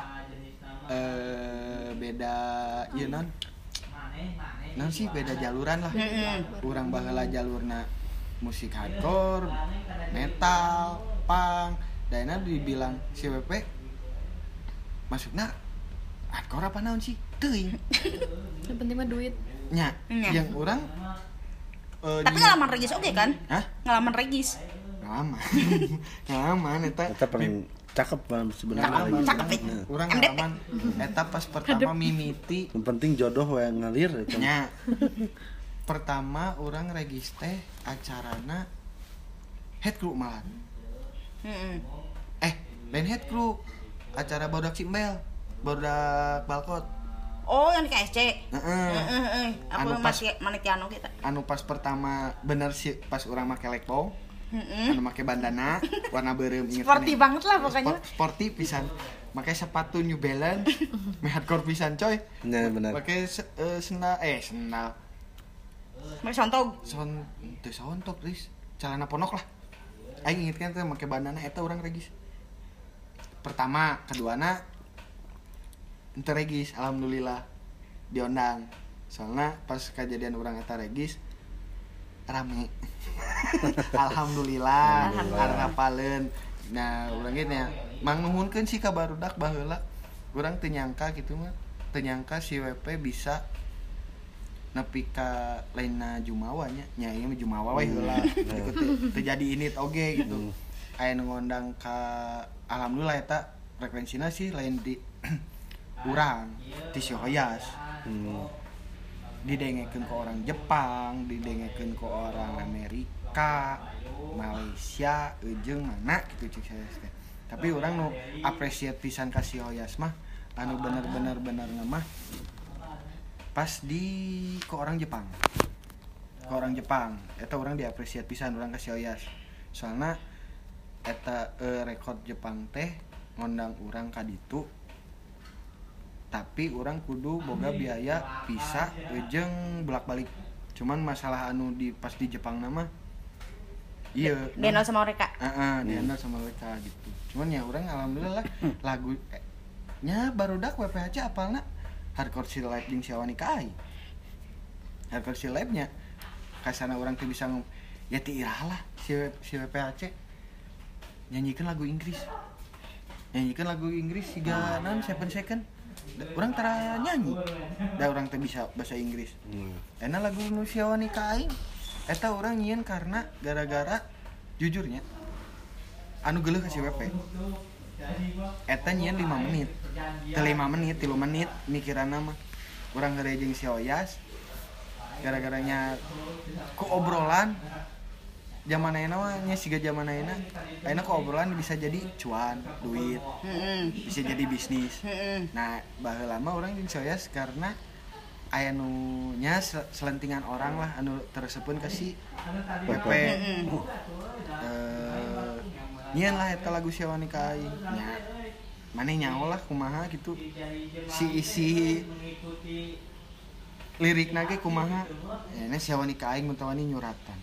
ieu non sih beda jaluran lah. Urang baheula jalurna musik hardcore, metal, punk, daena dibilang si WP masukna hardcore apa naon sih? Teuing. Yang penting mah duit. Nya, yang urang tapi ngalaman regis oke kan? Hah? Ngalaman regis. Ngalaman eta paling cakep sebenarnya. Cakep. Urang ngalaman eta pas pertama mimiti. Yang penting jodoh we ngalir eta. Nya. Pertama urang regis teh acarana head crew malahan. Lain head crew acara Barudak Cimbel, Barudak Balkot. Oh, yang di KSC. Aku Anu masih manitiano kita. Anu pas pertama bener sih pas urang make lekpong. Anu make bandana warna beureum inget. Sporty banget lah pokoknya. Sporty pisan. Make sepatu New Balance, hardcore pisan coy. Nah, benar. Make sendal. Make sontog. Sontok, Riz. Celana ponok lah. Aing inget kan teh make bandana eta urang regis. Pertama, keduana ente regis, alhamdulillah diondang. Soalnya pas kejadian urang eta regis rame. Alhamdulillah harapaleun. Nah, urang ge nya mang nuhunkeun sih ka barudak baheula. Urang teu nyangka gitu mah. Teu nyangka si WP bisa nepi ka lainna Jumawa nya. Nya ieu mah Jumawa we heula. Teu jadi init oge gitu. Aya nu ngondang ka alhamdulillah eta frekuensina sih lain di urang di Hoyas. Didengekeun ke orang Jepang, didengekeun ke orang Amerika, Malaysia, jeung mana gitu cik saya teh. Tapi orang nu appreciate pisan ka si Oyas mah anu bener-bener mah pas ke orang Jepang eta orang diapresiat pisan orang ka si Oyas soalna eta rekod Jepang teh ngondang orang ka ditu tapi orang kudu boga biaya visa jeung bolak-balik cuman masalah anu pas di Jepang nama iya dihandle sama mereka dihandle sama mereka gitu cuman ya orang alhamdulillah lah lagu nya barudak WPHC apalna Hardcore Chill Live jeung Syawani Kai Hardcore Chill Live nya kasana orang teh bisa ya ti irah lah si WPHC nyanyikan lagu Inggris siga naon 7 second orang tara nyanyi da orang teh bisa bahasa Inggris enak lagu nu Syawani Kai eta orang nyieun karena gara-gara jujurnya anu geuleuh ka si WP eta nyieun 5 menit 3 menit mikiranna mah urang geure jeung si Oyas gara-garanya ku obrolan zaman ayeuna mah nya siga zaman ayeuna ku obrolan bisa jadi cuan duit bisa jadi bisnis nah baheula mah urang jeung si Oyas karena aya nu nya selentingan orang lah anu terseupeun ka si WP nyieun lah eta lagu Syawani Kai nya maneh nyaho lah kumaha gitu si isi lirikna ge kumaha nya Syawani Kai mun tawani nyuratan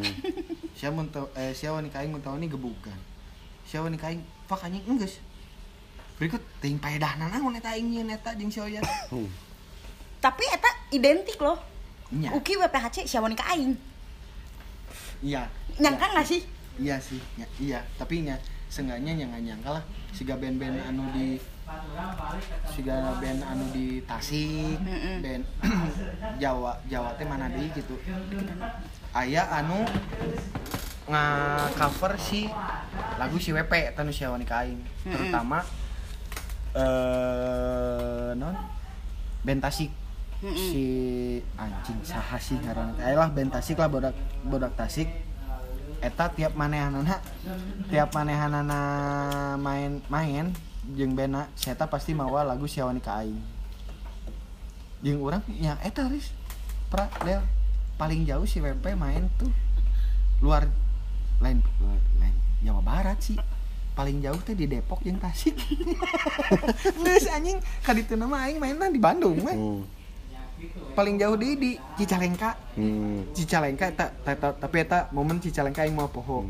Syawani Kai mun tawani gebukan Syawani Kai fuck anjing enggeus berikut teuing paedahna naon eta aing nyieun eta jeung si Oyas tapi eta identik loh nya Uki WPHC Syawani Kai iya nyangka nggak sih iya sih iya tapi nya seenggaknya nyangka lah siga band-band anu di Tasik band Jawa teh mana deui gitu aya anu nga-cover si lagu si WP eta nu Syawani Kai terutama non band Tasik si anjing saha sih ngaranna teh lah band Tasik lah bodak Tasik eta tiap manehanana main jeung bena eta pasti mawa lagu Syawani Kai jeung urang nya eta ris del paling jauh si WP main tuh luar lain Jawa Barat sih paling jauh teh di Depok jeung Tasik geus anjing ka ditu mah aing mainna di Bandung mah paling jauh di Cicalengka Cicalengka eta tapi eta momen Cicalengka aing mau poho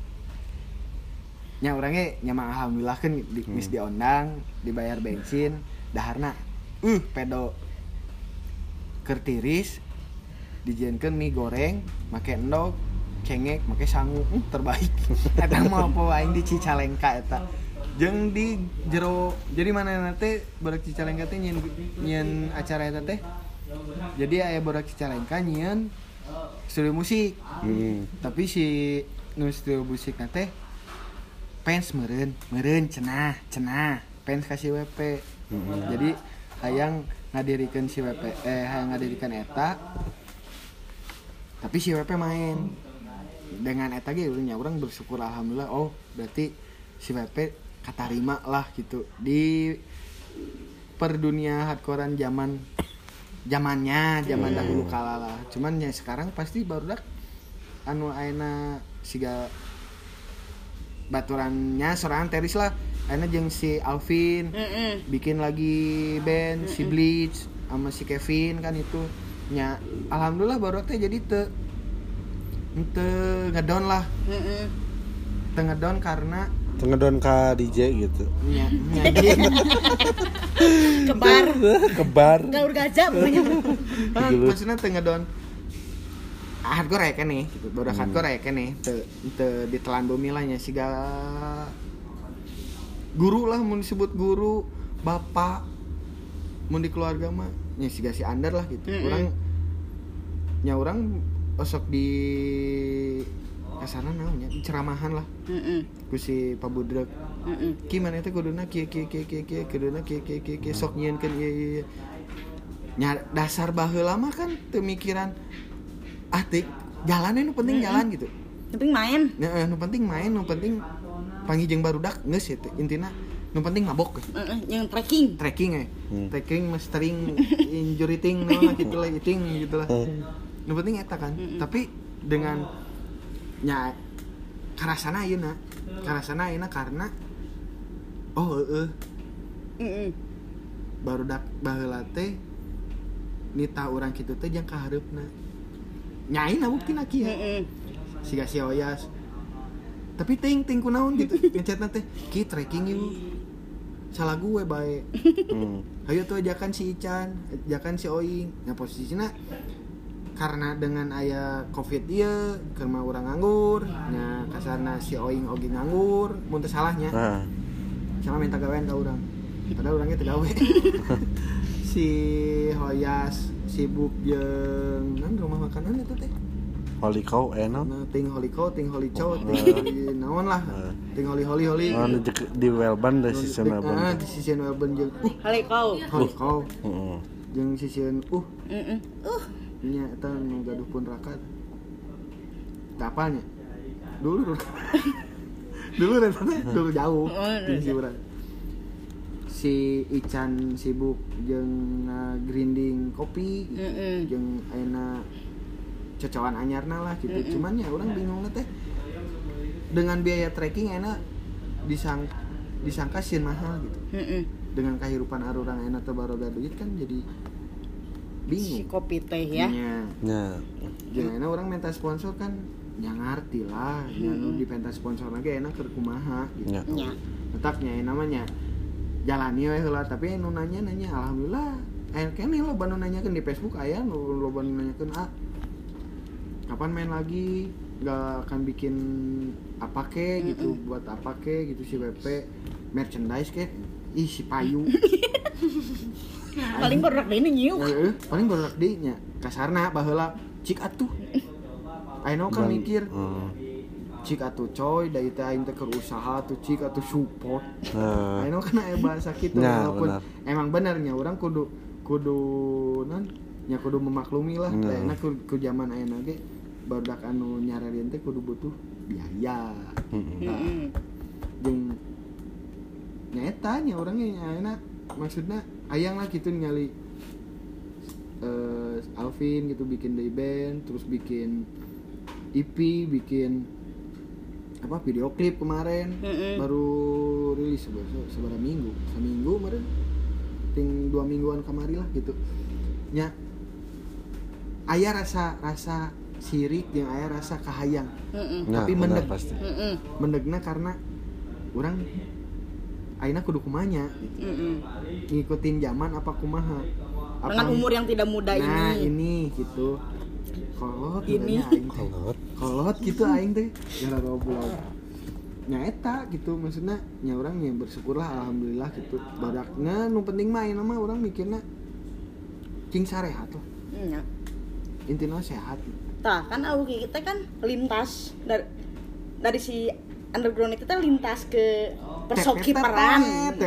nya urang ge nya mah alhamdulillah kan geus diondang dibayar bensin daharna pedo keur tiris dijieunkeun mie goreng make endog cengek make sangu terbaik eta mah poho aing di Cicalengka eta jeung di jero jadi mana teh baru Cicalengka teh nyieun acara eta teh jadi aya bodak Cicalengka nyieun studio musik tapi si nu studio musik teh fans meureun cenah fans ka si WP jadi hayang ngadirikeun si WP hayang ngadirikeun eta tapi si WP main dengan eta ge urang bersyukur alhamdulillah oh berarti si WP katarima lah gitu di perdunia hardcorean zaman dahulu kala lah cuman ya sekarang pasti barudak anu ayeuna siga baturannya sorangan teris lah ayeuna jeung si Alvin bikin lagi band si Bleach sama si Kevin kan itu nya alhamdulillah barudak teh jadi teu ngedown lah teu ngedown karena ngedon ka DJ gitu nya kebar gaur gajah pokoknya maksudnya teu ngedon hardcore ya kan nih gitu bodak hardcore ya kan nih teu ditelan bumi lah nya siga guru lah mun disebut guru bapak mun di keluarga mah nya siga si Andar lah gitu urang osok di kasana naonnya ceramahan lah ku si Pak Budrek ki mana teh kuduna kieu kuduna kieu sok nyieunkeun ieu nya dasar baheula mah kan teu mikiran tik jalan nu penting jalan gitu penting main nu penting main nu penting panggih jeung barudak geus ya intina nu penting mabok yang trekking trekking mastering injury thing naon gitu lah gitu lah nu penting eta kan tapi dengan nya karasana ayeuna karena barudak baheula teh nita urang kitu teh jang ka hareupna nyaina buktina kieu siga si Oyas tapi ting kunaon gitu ngechatna teh ki trekking yuk salah gue bae ayo tuh ajakan si Ican ajakan si Oing nah posisinya karena dengan aya covid ieu keur mah urang nganggur nya kasarna si Oing oge nganggur mun teu salahnya sama minta gawean ka urang padahal urangnya teu gawe si Hoyas sibuk jeung rumah makanan eta teh Holy Cow enak. Ting Holy Cow, ting Holy Chow, naon lah. Ting Holy. Di Welban da season Welban. Di season Welban jeung Holy Cow. Heeh. Jeung season nya eta nu gaduh pun rakat. Kapalnya. Dulu jauh. Si urang. Si Ican sibuk jeung grinding kopi jeung ayeuna cocokan anyarna lah gitu. Cuman ya orang bingung teh dengan biaya trekking enak disangka sieun mahal gitu. Dengan kehidupan arurang enak teh baroga duit kan jadi bingung. Si kopi teh ya. Nya. Jeung enak orang minta sponsor kan nya ngarti lah. Nya nu dipenta sponsor lagi enak keur kumaha gitu. Nya. Tetapnya namanya jalani we heula tapi nu nanya alhamdulillah kene lo banu nanyakeun di Facebook aya lo banu nanyakeun kapan main lagi nggak akan bikin apa ke gitu buat apa ke gitu si WP merchandise ke si payu paling berak deh ini nyiuk paling berak deh nya kasarna baheula cik atuh ayeuna kan mikir cik atuh coy da ieu aing teh keur usaha tuh cik atuh support ayeuna kan aya bahasa kitu walaupun emang benernya urang kudu memaklumi lah ayeuna ku zaman ayeuna ge barudak anu nyararin teh kudu butuh biaya. Jeung nyaeta nya urangnya ayeuna maksudna hayang lah kitu ningali Alvin gitu bikin day band terus bikin EP bikin video klip kemarin baru rilis seberapa minggu kemarin ting 2 mingguan kamari lah gitu nya aya rasa sirik yang aya rasa kahayang tapi mendeg pasti mendegna karena orang ayeuna kudu kumanya ngikutin zaman apa kumaha dengan umur yang tidak muda ini gitu kolot ini aing kolot gitu aing teh gara goblok nya eta gitu maksudna nya urang nya bersyukurlah alhamdulillah gitu badakna nu penting mah ayeuna mah urang mikirna cing sarehat lah intina sehat tah kan auge kita kan lintas dari si underground itu teh lintas ke persopkiperan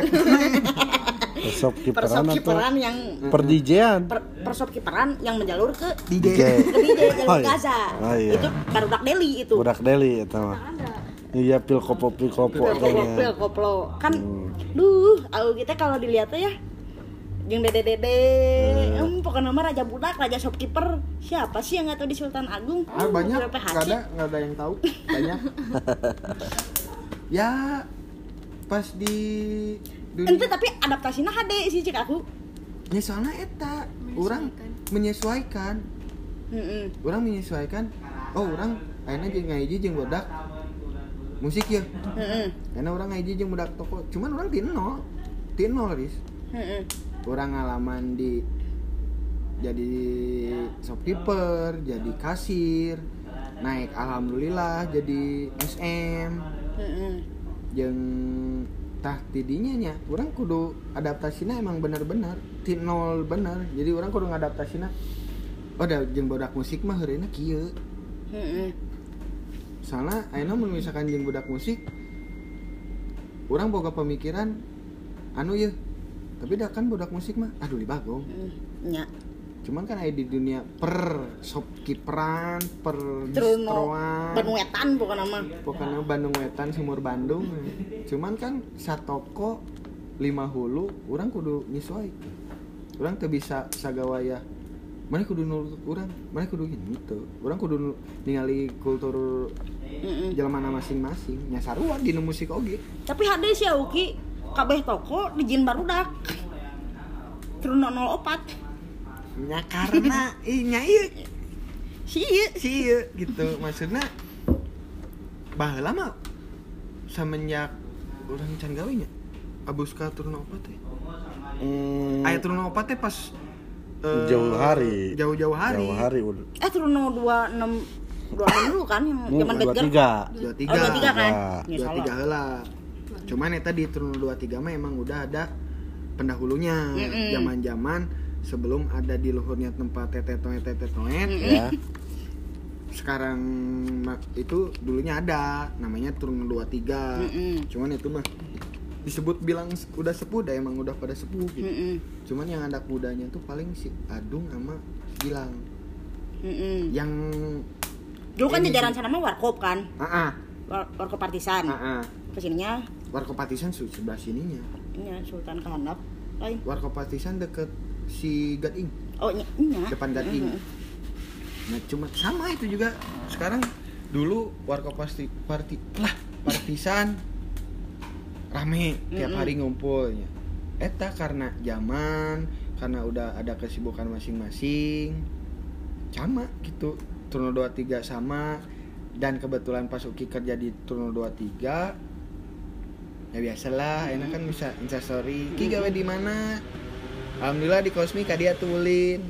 persopkiperan yang perdijean persopkiperan yang menjalur ke DJ jalur Gaza itu barudak Deli itu budak Deli eta mah iya pil koplo kan auge kita kalau dilihat ya jeung dede pokoknya nama raja budak, raja shopkeeper siapa sih yang nggak tahu di Sultan Agung? Banyak, nggak ada yang tahu banyak. Ya pas di ente tapi adaptasinya hade sih cik aku. Ya soalnya eta orang menyesuaikan. Orang menyesuaikan. Oh orang ayeuna jeung ngahiji jeung budak musik ya. Ayeuna orang ngahiji jeung budak toko. Cuman orang ti nol Riz. Orang ngalaman jadi shopkeeper, jadi kasir, naik alhamdulillah jadi SM. Jeung tah tidinya nya urang kudu adaptasina emang bener-bener ti nol bener. Jadi urang kudu ngadaptasina da jeung budak musik mah heureuna kieu. Soalna ayeuna mun misalkan jeung budak musik urang boga pemikiran anu ieu tapi dah kan budak musik mah aduh libagong. Nya. Cuman kan aya di dunia per shopkeeperan, per Terus distroan. Bandung Wetan bukan nama. Pokoknya Bandung Wetan, Sumur Bandung. Cuman kan satoko 5 hulu, urang kudu nyesuaikeun. Urang teu bisa sagawaya. Mana kudu nurut urang, mana kudu gitu. Urang kudu ningali kultur jelema masing-masing. Nya sarua dina musik oge. Tapi hade si Auki kabeh toko dijin barudak. Terus 04. Nya karena nya ieu Si ieu. gitu. Maksudna baheula mah semenjak urang can gawe nya abus ka turun 04 teh. Aya turun 04 teh pas jauh hari jauh-jauh hari udah. Terus 26 dulu kan yang zaman Bedger. 23 Oh 23 kan? Ya 23 salah. heula. Cuman eta di turun 23 mah emang udah ada pendahulunya. Zaman-zaman sebelum ada di luhurnya tempat tetet-toet ya. Sekarang itu dulunya ada namanya turun 23. Cuman itu mah disebut bilang udah sepuh dah, emang udah pada sepuh gitu. Cuman yang anak mudanya tuh paling si Adung sama Gilang. Yang Dulu kan jajaran sana mah Warkop kan? Warkop Partisan. Kesininya Warkop Partisan sebelah sininya. Ini Sultan Kehandap lain. Warkop Partisan deket si Gading. Oh nya. Depan Gading. Nah cuma sama itu juga. Sekarang dulu Warkop Partisan rame tiap hari ngumpulnya. Eta karena zaman, karena udah ada kesibukan masing-masing. Sama gitu. Turun 23 sama, dan kebetulan pas Uki kerja di turun 23. Ya biasalah, enak kan bisa Instastory. Ki gawe di mana? Alhamdulillah di Kosmi ka dia tuh ulin.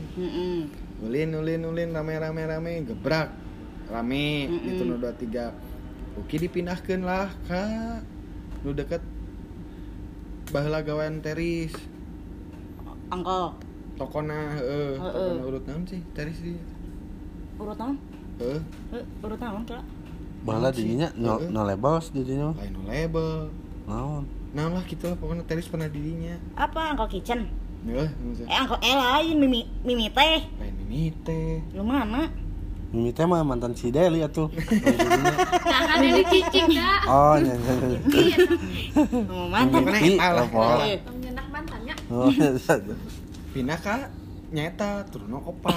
Ulin rame gebrak. Rame di turun 23. Uki dipindahkeun lah ka nu deket baheula gawean teris. Angkol. Tokona tokona urut naon sih teris di. Urut naon? Urut naon kira? Baheula didinya no label didinya. Lain no label. Naon lah gitu lah pokoknya teris pernah didinya. Apa Angkol Kitchen? Angkol lain Mimi teh. Lain Mimi teh. Lu mana? Mimi teh mah mantan si Deli atuh. Nah, kan Deli cicing dah. Oh, nya. Oh, mantan Pokoknya Mimi, eta lah. Nyenak mantannya. Oh, Pindah ka nyata turun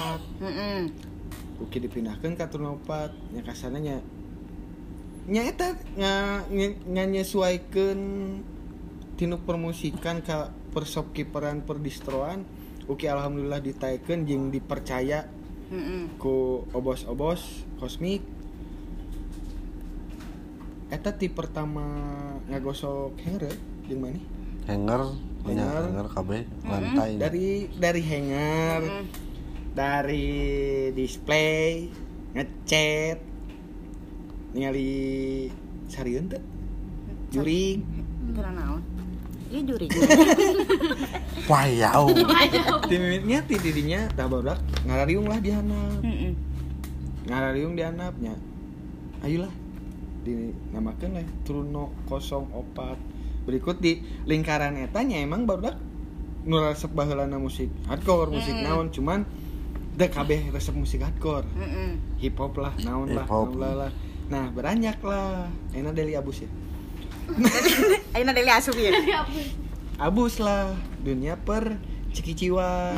4. Uki dipindahkeun ka turun 4. Nya kasana nya eta nyesuaikeun tinu permusikan ka pershopkeeperan perdistroan. Uki alhamdulillah ditaekeun jeung dipercaya ku obos-obos Kosmik. Eta ti pertama ngagosok hanger jeung mana? Hanger kabeh lantai. Dari hanger, dari display, ngecat, ningali sarieun teh. Jurig. Kira naon? Ieu jurig. Wayau. Timitnya ti didinya tah barudak ngarariung lah di handap. Ngarariung di handapnya. Ayolah dinamakeun lah turun 04. Berikut di lingkaran etanya emang barudak nu resep baheulana musik hardcore, musik naon cuman da kabeh resep musik hardcore. Hip hop lah, naon lah. Nah, beranjak lah. Ayeuna Deli Abus ya. Ayeuna Deli asup ya. Abus lah, dunia per cikiciwan.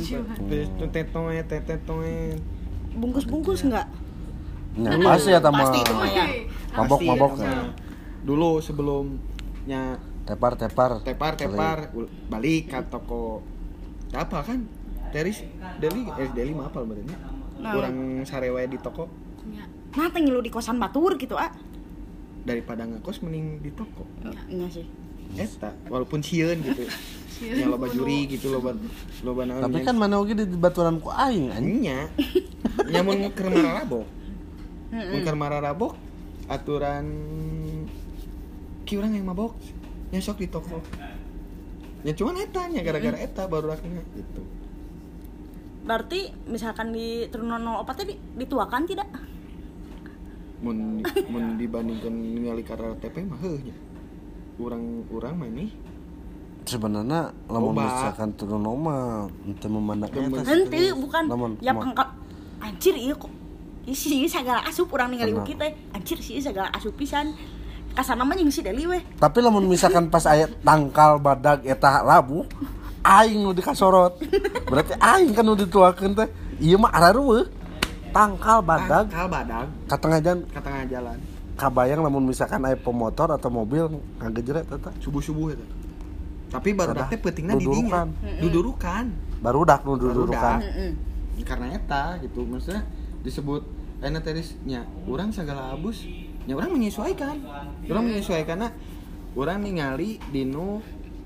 Tetetoet. Bungkus-bungkus enggak? Nya pasti eta mah. Pasti itu mah ya. Mabok Nah, dulu sebelumnya tepar balik ke toko apa kan? Deli mah apal badannya. Kurang sarewe di toko. Nah, teh ngilu di kosan batur gitu Daripada ngekos mending di toko. Iya sih. Eta walaupun sieun gitu. Nya loba juri gitu loba naon. Tapi kan mana oge di baturan ku aing anjing. nya. Nyamun keur mararabok. Mun keur mararabok aturan ki urang yang mabok nya sok di toko. Ya cuman eta nya gara-gara eta barurakna gitu. Berarti misalkan di Turun 04 teh dituakan tidak? Mun dibandingkan ningali karena TP mah heuh nya. Urang mah nih sebenarnya lamun Loba. misalkan turun oma teu memandang eta. henteu bukan Lamun ya kumaha? pangkat anjir ieu kok isi sagala asup urang ningali Kenapa? uki teh anjir sih sagala asup pisan kasana mah jeung si Deli weh Tapi lamun misalkan pas aya tangkal badag eta labu, aing nu dikasorot. Berarti aing kan nu dituakeun teh. Ieu mah arareueuh. Tangkal badag Tangkal badag ka tengah jalan. ka tengah jalan. Kabayang lamun misalkan aya pemotor atau mobil ngagejret eta. Subuh-subuh eta. Tapi barudak teh peutingna di Dudurukan. dinya. Dudurukan. Barudak nu dudurukan. heeh Karena eta gitu maksudnya disebut enak terisnya orang segala abus nya orang menyesuaikan karena orang ningali dinu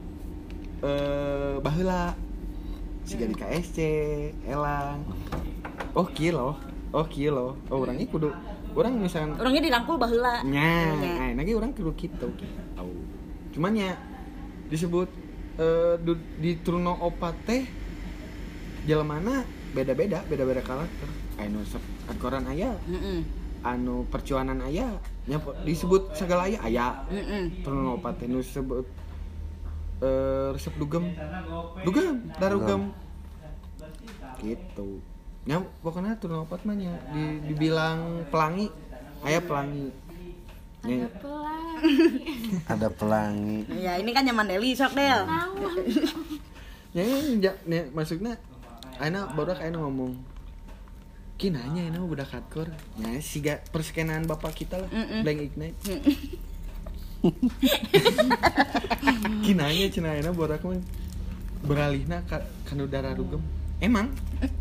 baheula siga di KSC elang oh kilo orang ini kudu orang misalkan orangnya dirangkul baheula nya lagi orang kudu kitu tahu cuman ya disebut di Truno Opat teh jelemana beda-beda karakter anu akoran aya heeh anu percuanan aya nya disebut segala aya Truno Opat teh nu disebut resep dugem darugem gitu nya pokoknya Truno Opat mah nya dibilang pelangi aya pelangi nya Ada pelangi. ya ini kan nyaman Deli sok Del nya maksudnya ayeuna barudak ayeuna ngomong ki nanya ayeuna budak hardcore nya siga perskenaan bapak kita lah Blank Ignite ki nanya cenah ayeuna barudak mah beralihna ka kanu dararugem emang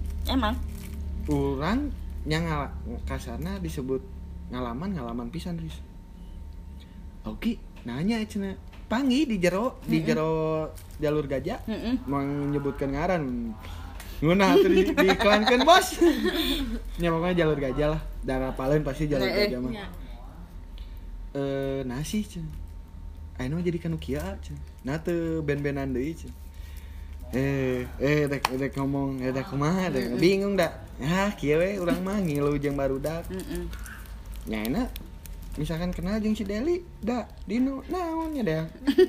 urang yang kasarna disebut ngalaman pisan Riz oke nanya cenah panggil di jero jalur gajah mau menyebutkan ngaran ngunah tuh diiklankan bos nya pokoknya jalur gajah lah darah palen pasti jalur gajah mah nasi cen ayeuna mah jadi kanu kieu cen nah teu ben-benan deui cen dek ngomong dek kumaha dek bingung da kieu we urang mah ngilu jeung barudak nya ayeuna misalkan kenal jeung si Deli da dinu naon nya Del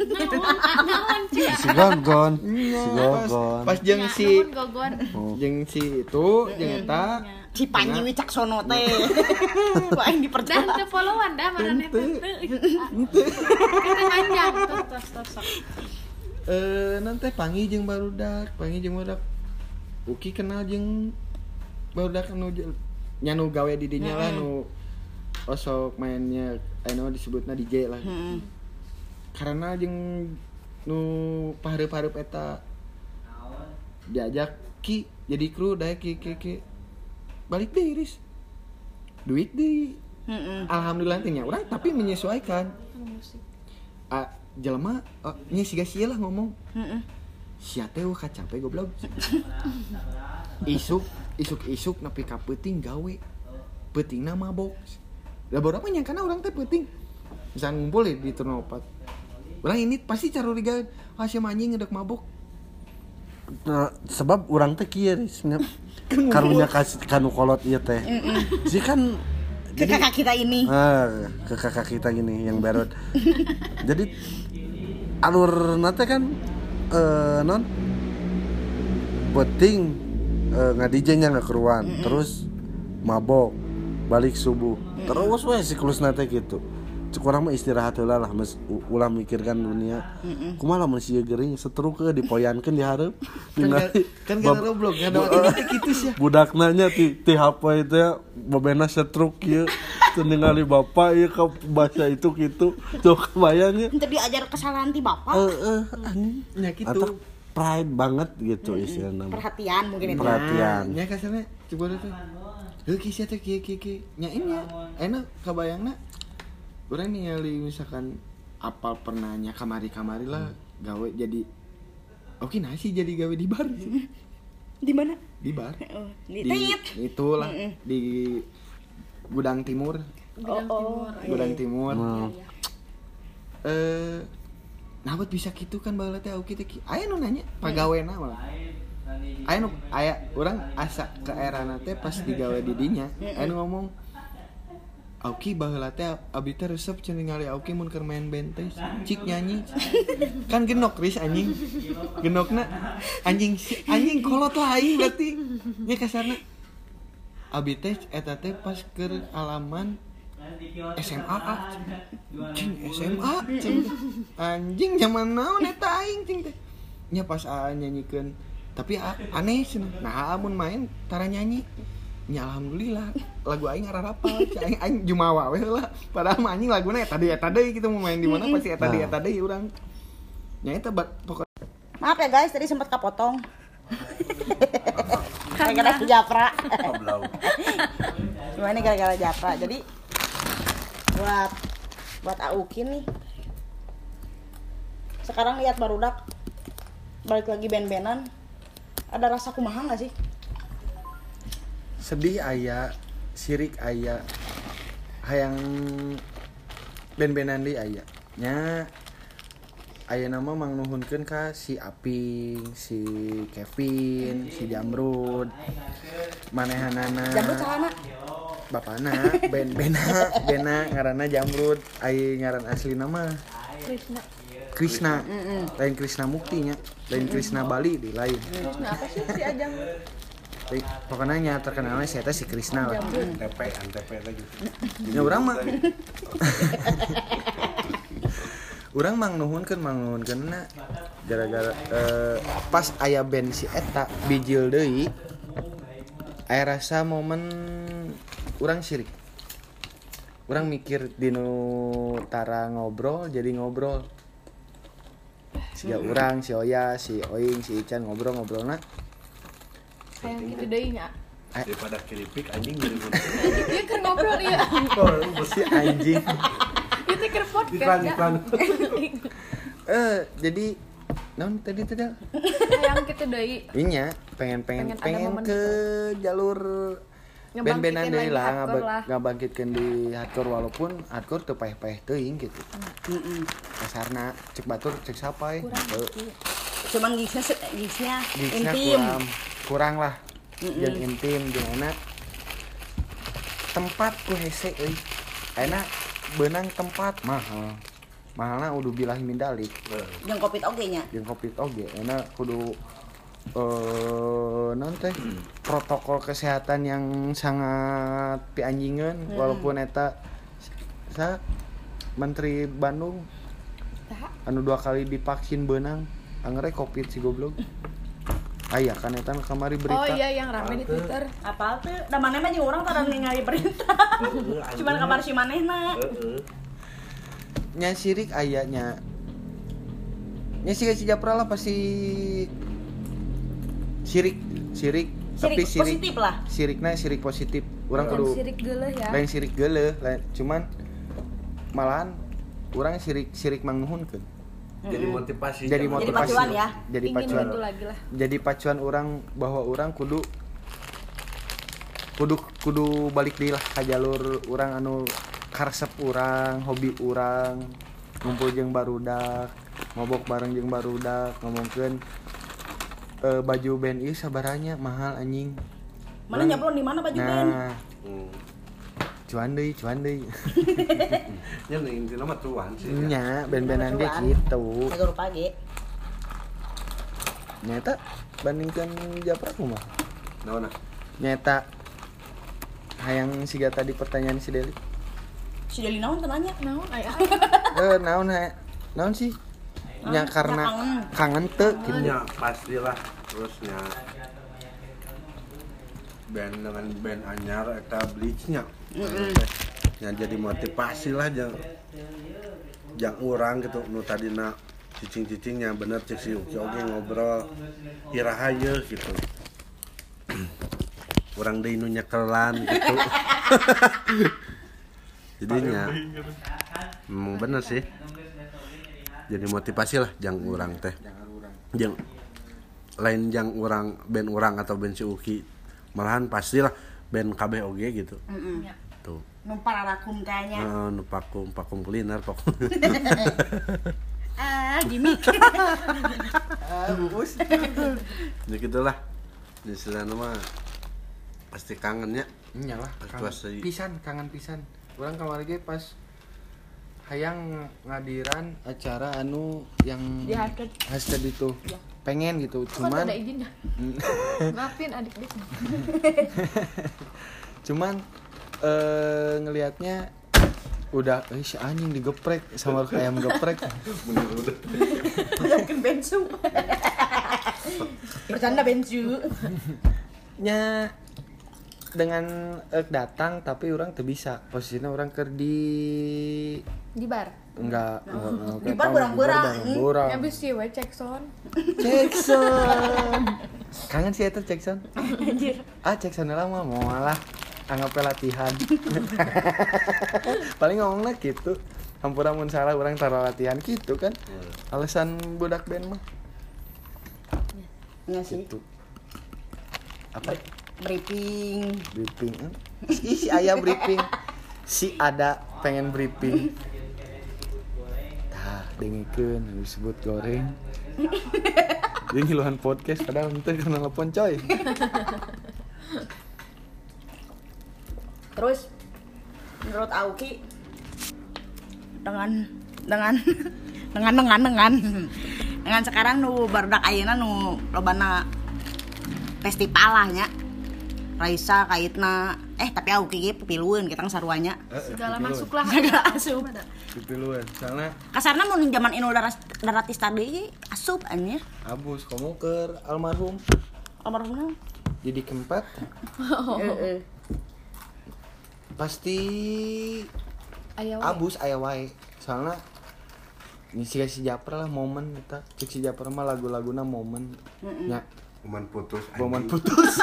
Si Gongon. pas jeung si gogon jeung si itu jeung eta si Panji Wicaksono teh kok aing dipercaya dan teu followan dah marane teh kita panjang tos nanti panggil jeung barudak uki kenal jeung barudak anu nya nu gawe di dinya lah nu osok mainnya anu disebutna DJ lah karena jeung nu pahareup-hareup eta diajak ki jadi kru daek ki balik deui Riz duit deui alhamdulillah nya urang tapi menyesuaikan jelema nya siga sia lah ngomong sia teh ka capek goblok isuk nepi ka peuting gawe peutingna mabok da beberapa nyangkana urang teh peuting misalnya ngumpul di Truno Opat urang ini pasti carurigaeun sia anjing ngedek mabok Nah, sebab urang teh kieu Riz karunya kasih kanu kolot ieu teh. Si kan ke kakak kita ini ke kakak kita gini yang berot. Jadi alur nate kan non penting ngadijenya nggak keruan terus mabok balik subuh terus we siklus nate gitu cek urang mah istirahat heula lah ulah mikirkan dunia kumaha lamun sieu geuring setruk ke dipoyankeun di hareup kan goblok ngadawa kitu sia budakna nya ti HP teh bobena setruk ieu teu ningali bapa ieu ka bahasa itu kitu tuh kebayang ya teu diajar kesalahan ti bapak nya kitu atau pride banget gitu istilahna perhatian mungkin itu perhatian nya kasarna coba teh heuh ki sia teh kieu nya nya enak kabayangna urang ningali misalkan apal pernahnya kamari lah gawe jadi oke nasi jadi gawe di bar di mana di bar di itulah di Gudang Timur Gudang Timur nabat bisa gitu kan baheula teh oke teh aya nu nanya pagawena mah aya urang asa ke erana teh pas digawe di dinya aya nu ngomong Auki baheula teh abi teh resep cenah ningali Auki mun keur main band teh cik nyanyi. Kan genok Riz anjing. Genokna anjing kolot lain berarti. Nya kasarna. Abi teh eta teh pas keur alaman SMA cing SMA cing anjing zaman naon eta aing cing teh. Nya pas nyanyikeun tapi aneh cenah. Nah amun main tara nyanyi. Ya alhamdulillah lagu aing ngararapal aing jumawa we heula padahal mah anjing laguna eta deui gitu mau main di mana pasti eta deui urang nya eta pokok. Maaf ya guys, tadi sempat kepotong gara-gara Japra. Cuma ini gara-gara Japra. Jadi buat Auki nih sekarang lihat barudak balik lagi band-bandan, ada rasa kumaha nggak sih? Sedih aya, sirik aya, hayang ben-benan deui aya. Nya aya nama mang nuhunkeun ka si Aping, si Kevin, si Jamrud. Manehanana. Jamrud calana. Bapana, bena ngaranna Jamrud, ai ngaran asli nama Krishna. Lain Krishna Mukti nya, lain Krishna Bali di lain. Krishna apa sih si Ajang? Pokoknya nya terkenalnya si eta si Krishna lah. Antep lagi. Ya urang mah. Urang mang nuhunkeun na gara-gara pas aya band si eta bijil deui aya rasa momen urang sirik. Urang mikir dinu tara ngobrol jadi ngobrol. Siga urang, si Oya, si Oing, si Ican ngobrolna. Kayak gitu deui nya. Daripada keripik anjing jadi Dia keur ngobrol ieu. Si anjing. Itu keur podcast ya. Jadi naon tadi Hayang kitu deui. Inya pengen ada momen ke jalur band-bandan deui lah ngabangkitkeun di hardcore walaupun hardcore teu paeh-paeh teuing gitu. Kasarna cek batur cek sapai. Cuman gigsnya intim. Kurang lah. Jeung intim jeung enak. Tempat ku hese euy. Enak beunang tempat mahal. Mahalna udah bilah mindalik. Jeung Covid oge nya. Jeung Covid oge enak kudu non teh protokol kesehatan yang sangat pianjingeun walaupun eta Menteri Bandung anu 2 kali divaksin beunang angere Covid si goblok. Aya kan eta kamari berita. Oh iya yang rame di Twitter. Apal teh? Da maneh mah jeung urang tara ningali berita. Cuman kabar si manehna. Nya sirik aya nya. Nya si Japra lah pasti sirik tapi sirik positif lah. Sirikna sirik positif. Urang kudu sirik geuleuh ya. Lain sirik geuleuh, cuman malahan urang sirik mang nuhunkeun. Jadi motivasi. Jadi pacuan ya. Jadi Ingin pacuan. gitu lagi lah. Jadi pacuan orang bahwa orang kudu balik deui lah ka jalur urang anu karesep urang, hobi urang, ngumpul jeung barudak, ngobok bareng jeung barudak, ngomongkeun baju band ieu sabaranya mahal anjing. Mana nyablon di mana baju band? Cuan deui. Ya intina mah tuan sih. Nya band-bandan ge kitu. Sagur pagi. Nyata bandingkan Japra kumaha? Naon? Nyata hayang siga tadi pertanyaan si Deli. Si Deli naon teh nanya? Naon aya? Naon sih? Nya karena kangen teu gitu. Ya pastilah terusnya band dengan band anyar eta Bleach-nya. Ya jadi motivasi lah jang urang gitu nu tadina cicing-cicingnya bener cek si Uki oge ngobrol iraha yeuh gitu. Urang deui nu nyekelan gitu. Jadinya memang bener sih. Jadi motivasi lah jang urang teh. Jang lain jang urang band urang atau band si Uki malahan pastilah band KB oge gitu. Tuh. Nu pararakum kayaknya. Nu pakum kuliner pakum. Gimik. Bungkus. Ya gitulah. Istilahna mah pasti kangennya. Nyalah, kangen pisan. Urang kamari ge pas hayang ngadiran acara anu yang Di hashtag itu. Ya. Pengen gitu, Kok cuman ada izinnya? Maafin adik-adik. cuman ngelihatnya udah si anjing digeprek sama ayam geprek. Yakin bensu. Bercanda bensu. Nya dengan datang tapi orang tuh bisa posisinya orang ker di Di bar. enggak Di bar berang-berang. Habis sih we cek sound. Jackson kangen sih itu Jackson Anjir. Jackson lama mau malah anggap latihan. Paling ngomongnya gitu hampura mun salah orang taruh latihan gitu kan alasan budak band mah Enggak sih. gitu apa Briefing. si ayah briefing si ada pengen briefing tah dengikeun disebut goreng dia ngiluhan podcast padahal ente kena telepon coy. Terus menurut Auki dengan sekarang nu barudak ayeuna nu lobana festival lah nya. Raisa kaitna tapi Auki ge pipilueun kita saruanya. Segala masuk lah. Segala asup. Pipiluan soalnya Kasarna mun zaman Inul Daratista deui asup anjir. abus kamu ke almarhum Almarhum. jadi keempat Heeh. pasti Aya we. abus aya wae soalnya ini si Japra lah momen kita cek si Japra mah lagu-laguna momen nya Momen putus. momen anjing. putus.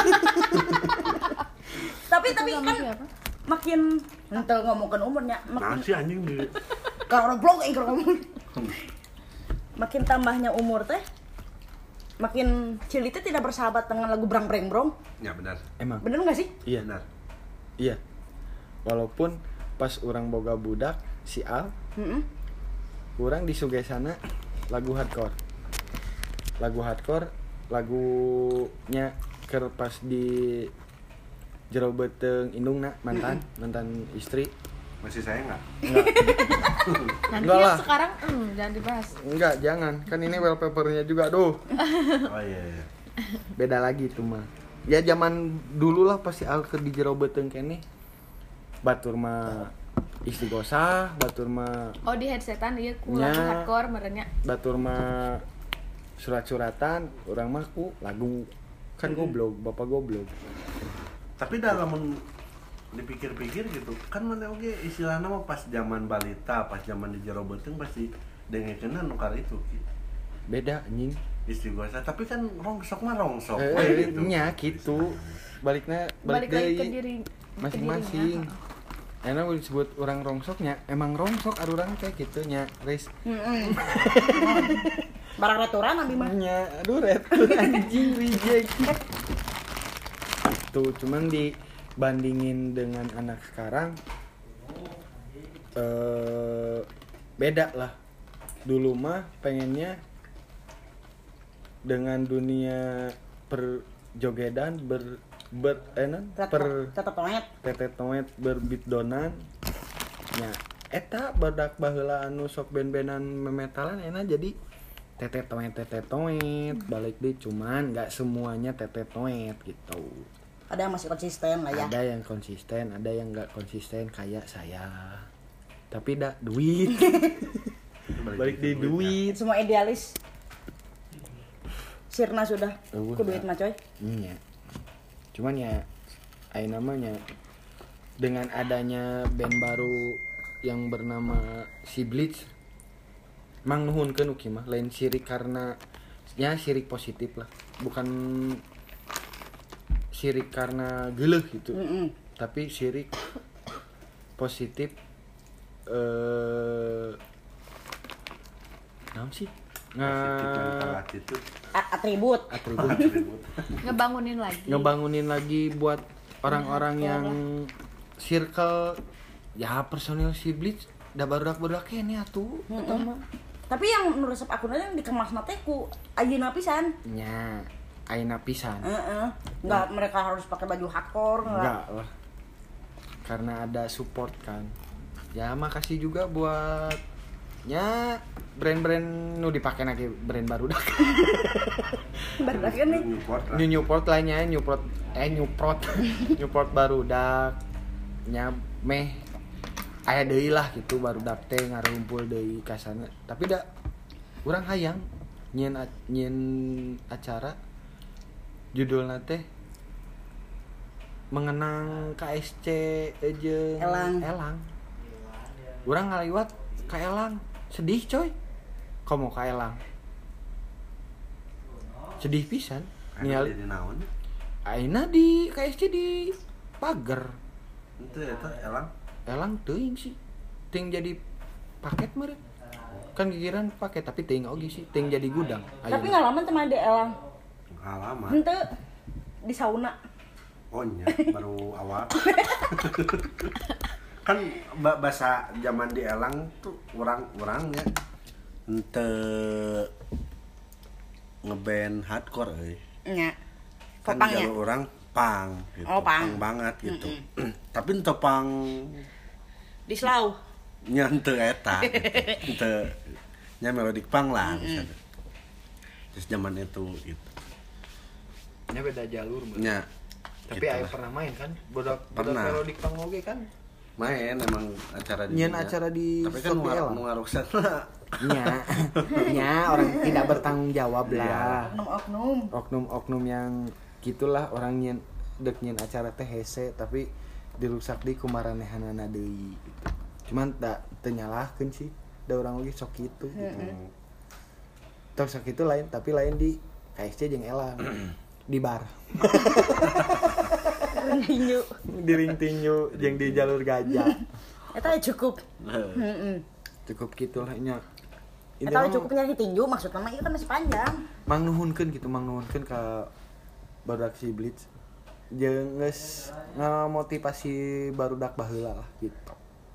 Tapi Itu kan sama siapa? makin entel ngomongkeun umurnya Nah makin si anjing di kalau blog ingker ngomong. Makin tambahnya umur teh makin Cili teh tidak bersahabat dengan lagu Brang Breng Brong. ya benar. Emang Bener gak sih? iya Benar. iya walaupun pas orang boga budak si Al Heeh. orang disugesana lagu hardcore lagunya ker pas di jero beteung indungna mantan istri Masih sayang enggak? Nanti Enggak yang lah. sekarang jangan dibahas. enggak jangan kan ini wallpapernya juga aduh Oh iya. beda lagi itu mah ya zaman dulu lah pasti al ke di jero beteung kene batur mah istighosah batur mah Oh di headsetan ieu ku Nya. lagu hardcore merenya. batur mah surat-suratan orang mah ku lagu kan goblok bapak goblok Tapi dalam dipikir-pikir gitu kan mana oge istilahnya mah pas zaman balita, pas zaman di jero beuteung pasti dengekeunna nu kali itu. beda anjing Istighosah, tapi kan rongsok mah rongsok we gitu. nya gitu balik Balik lagi ke deui diri masing-masing ke dirinya. enak disebut orang rongsoknya emang rongsok arurang kayak gitu nya res Barang restoran abi mah. nya aduh red anjing reject tuh cuman dibandingin dengan anak sekarang beda lah dulu mah pengennya dengan dunia perjogedan Tetep toet. tetet berbit donan nya eta badak baheula anu sok ben-benan memetalan enak jadi tetet balik deh cuman nggak semuanya tetet gitu Ada yang masih konsisten lah ya. ada yang konsisten ada yang nggak konsisten kayak saya tapi dah duit balik di duit Semua idealis. Sirna sudah. Ku duit mah coy. iya cuman ya ayo namanya dengan adanya band baru yang bernama si Bleach mang nuhunkeun uki mah lain sirik karena ya sirik positif lah bukan sirik karena geuleuh gitu tapi sirik positif naon sih Positif mental attitude. Atribut. atribut Ngebangunin lagi buat orang-orang yang circle ya personil si Bleach da barudak-barudak ini atuh Tapi yang nu resep akunna yang dikemas teh ku ayeuna pisan. nya ayeuna pisan Enggak mereka harus pakai baju hardcore enggak lah karena ada support kan. Ya makasih juga buat nya brand-brand nu dipake lagi brand barudak. Barudak kan nih. Newport lainnya Newport barudak nya meh aya deui lah gitu barudak teh ngarumpul deui ka sana. Tapi da urang hayang nyieun acara judulna teh mengenang KSC jeung Elang. Urang ngaliwat ka Elang. Sedih coy. Komo ka Elang. Sedih pisan. Ningali di naon? ayeuna di KSC di pager. Itu eta Elang. Elang teuing sih. Ting jadi paket meureun. Kan gigiran paket tapi teuing oge sih, teuing jadi gudang. Tapi ngalaman teman di Elang. Halaman. Henteu di sauna. Oh nya, baru awal. Kan bahasa zaman di Elang tuh orang-orangnya ente ngeband hardcore euy. Nya. Kan Popangnya. jalur orang pang gitu. Oh, pang. Banget gitu. Tapi ente pang Di Slau. nya ente eta. Ente nya melodic pang lah misalnya. Terus zaman itu gitu. Nya beda jalur meureun. Nya Tapi gitu aya lah. pernah main kan? Bodak Pernah. melodik pang oge kan? Main emang acara di Nyen dinya. acara di tapi kan Sopi Elang. mau ngaruksan Nya orang tidak bertanggung jawab lah. Oknum-oknum. Oknum-oknum yang gitulah orang nyen acara teh hese tapi dirusak di kumaranehanana deui gitu. Cuman da teu nyalahkeun sih. Da urang lagi sok kitu gitu. Tok sok kitu lain tapi lain di KSC jeung Elang. Di bar. Tinju. Di ring tinju jeung di jalur gajah. Eta cukup. Heeh. Cukup gitulah nya. Eta cukup nyari tinju maksudna mah ieu kan masih panjang. Mang nuhunkeun ka barudak si Blitz. Jeung geus ngamotivasi barudak baheula lah gitu.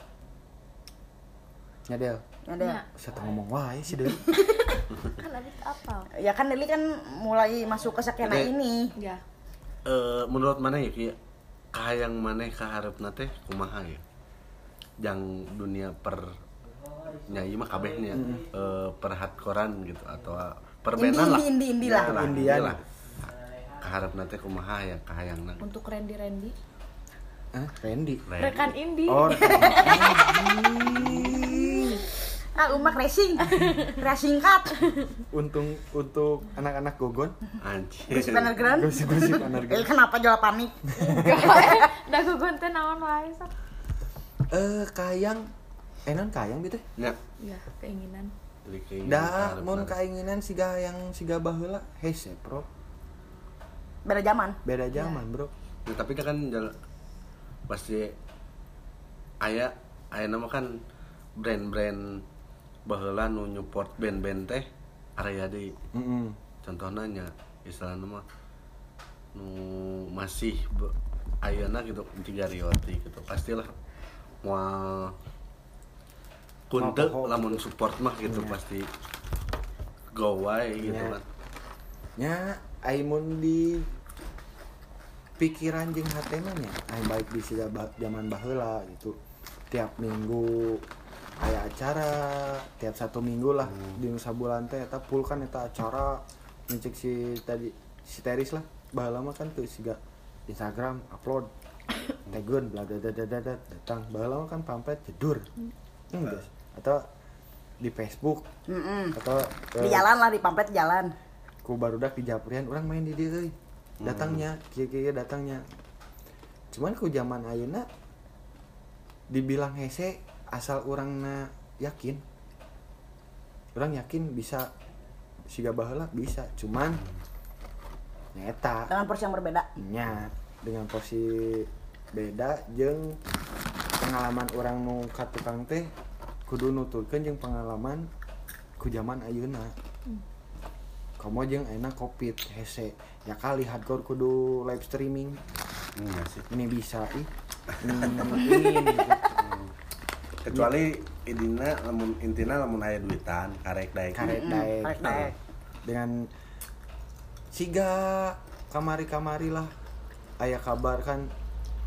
Nya Del. Ada. Saya ngomong wae sih Del. Kan Adit apa? Ya kan Deli kan mulai masuk ke skena Oke. ini. Ya. Menurut mana ya Ki? Kahayang maneh kaharepna teh kumaha ya? Jang dunia per nyanyi mah kabehnya per hardcorean gitu atau perbenan lah. Indie lah. Ya Indian. lah. Kaharepna teh kumaha ya kahayangna? Untuk Randy Hah, Randy. rekan indie. Oh, Umak racing. Racing cup. untuk anak-anak gogon. Anjir. Gosip underground. Gosip underground. Kenapa jual panik? Da gugun teh naon wae sok. Kayang non kayang gitu. Ya. Ya, keinginan. Jadi kayak Da kaharepna. mun kainginan siga baheula hese, Bro. Beda zaman. Beda zaman, Bro. Ya, tapi kan pasti aya nama kan brand-brand baheula nu nyupport band-band teh area di contohnya nya istilahna mah nu masih ayeuna gitu Ciga Rioti gitu pastilah moal kunte Mau lamun support mah gitu pasti go wae gitu Ya. kan Nya aimun di pikiran jeung hatena nya baik di siga zaman baheula gitu. Tiap minggu aya acara, tiap 1 minggu lah di Nusa Bulan teh eta full kan eta acara ngecek si Teris lah. Baheula mah kan tuh siga Instagram upload tegun bla bla bla bla datang. Baheula mah kan pamflet jedur. Guys. Atau di Facebook atau Di jalan lah, di pamflet jalan. ku barudak di Japrian orang main di dieu euy. Datangnya, kieu datangnya. Cuman ku zaman ayeuna dibilang hese asal urangna yakin. Urang yakin bisa siga baheula bisa, cuman nyata Dengan porsi yang berbeda. nya dengan porsi beda jeung pengalaman orang nu ka tukang teh kudu nuturkeun jeung pengalaman ku zaman ayeuna. Komo jeung ayeuna Covid hese ya kali hardcore kudu live streaming. Iya sih. Ini bisa ingin gitu. Kecuali intina lamun aya duitan karek daek. Karek daek. Karek daek. Dengan siga kamari-kamari lah aya kabar kan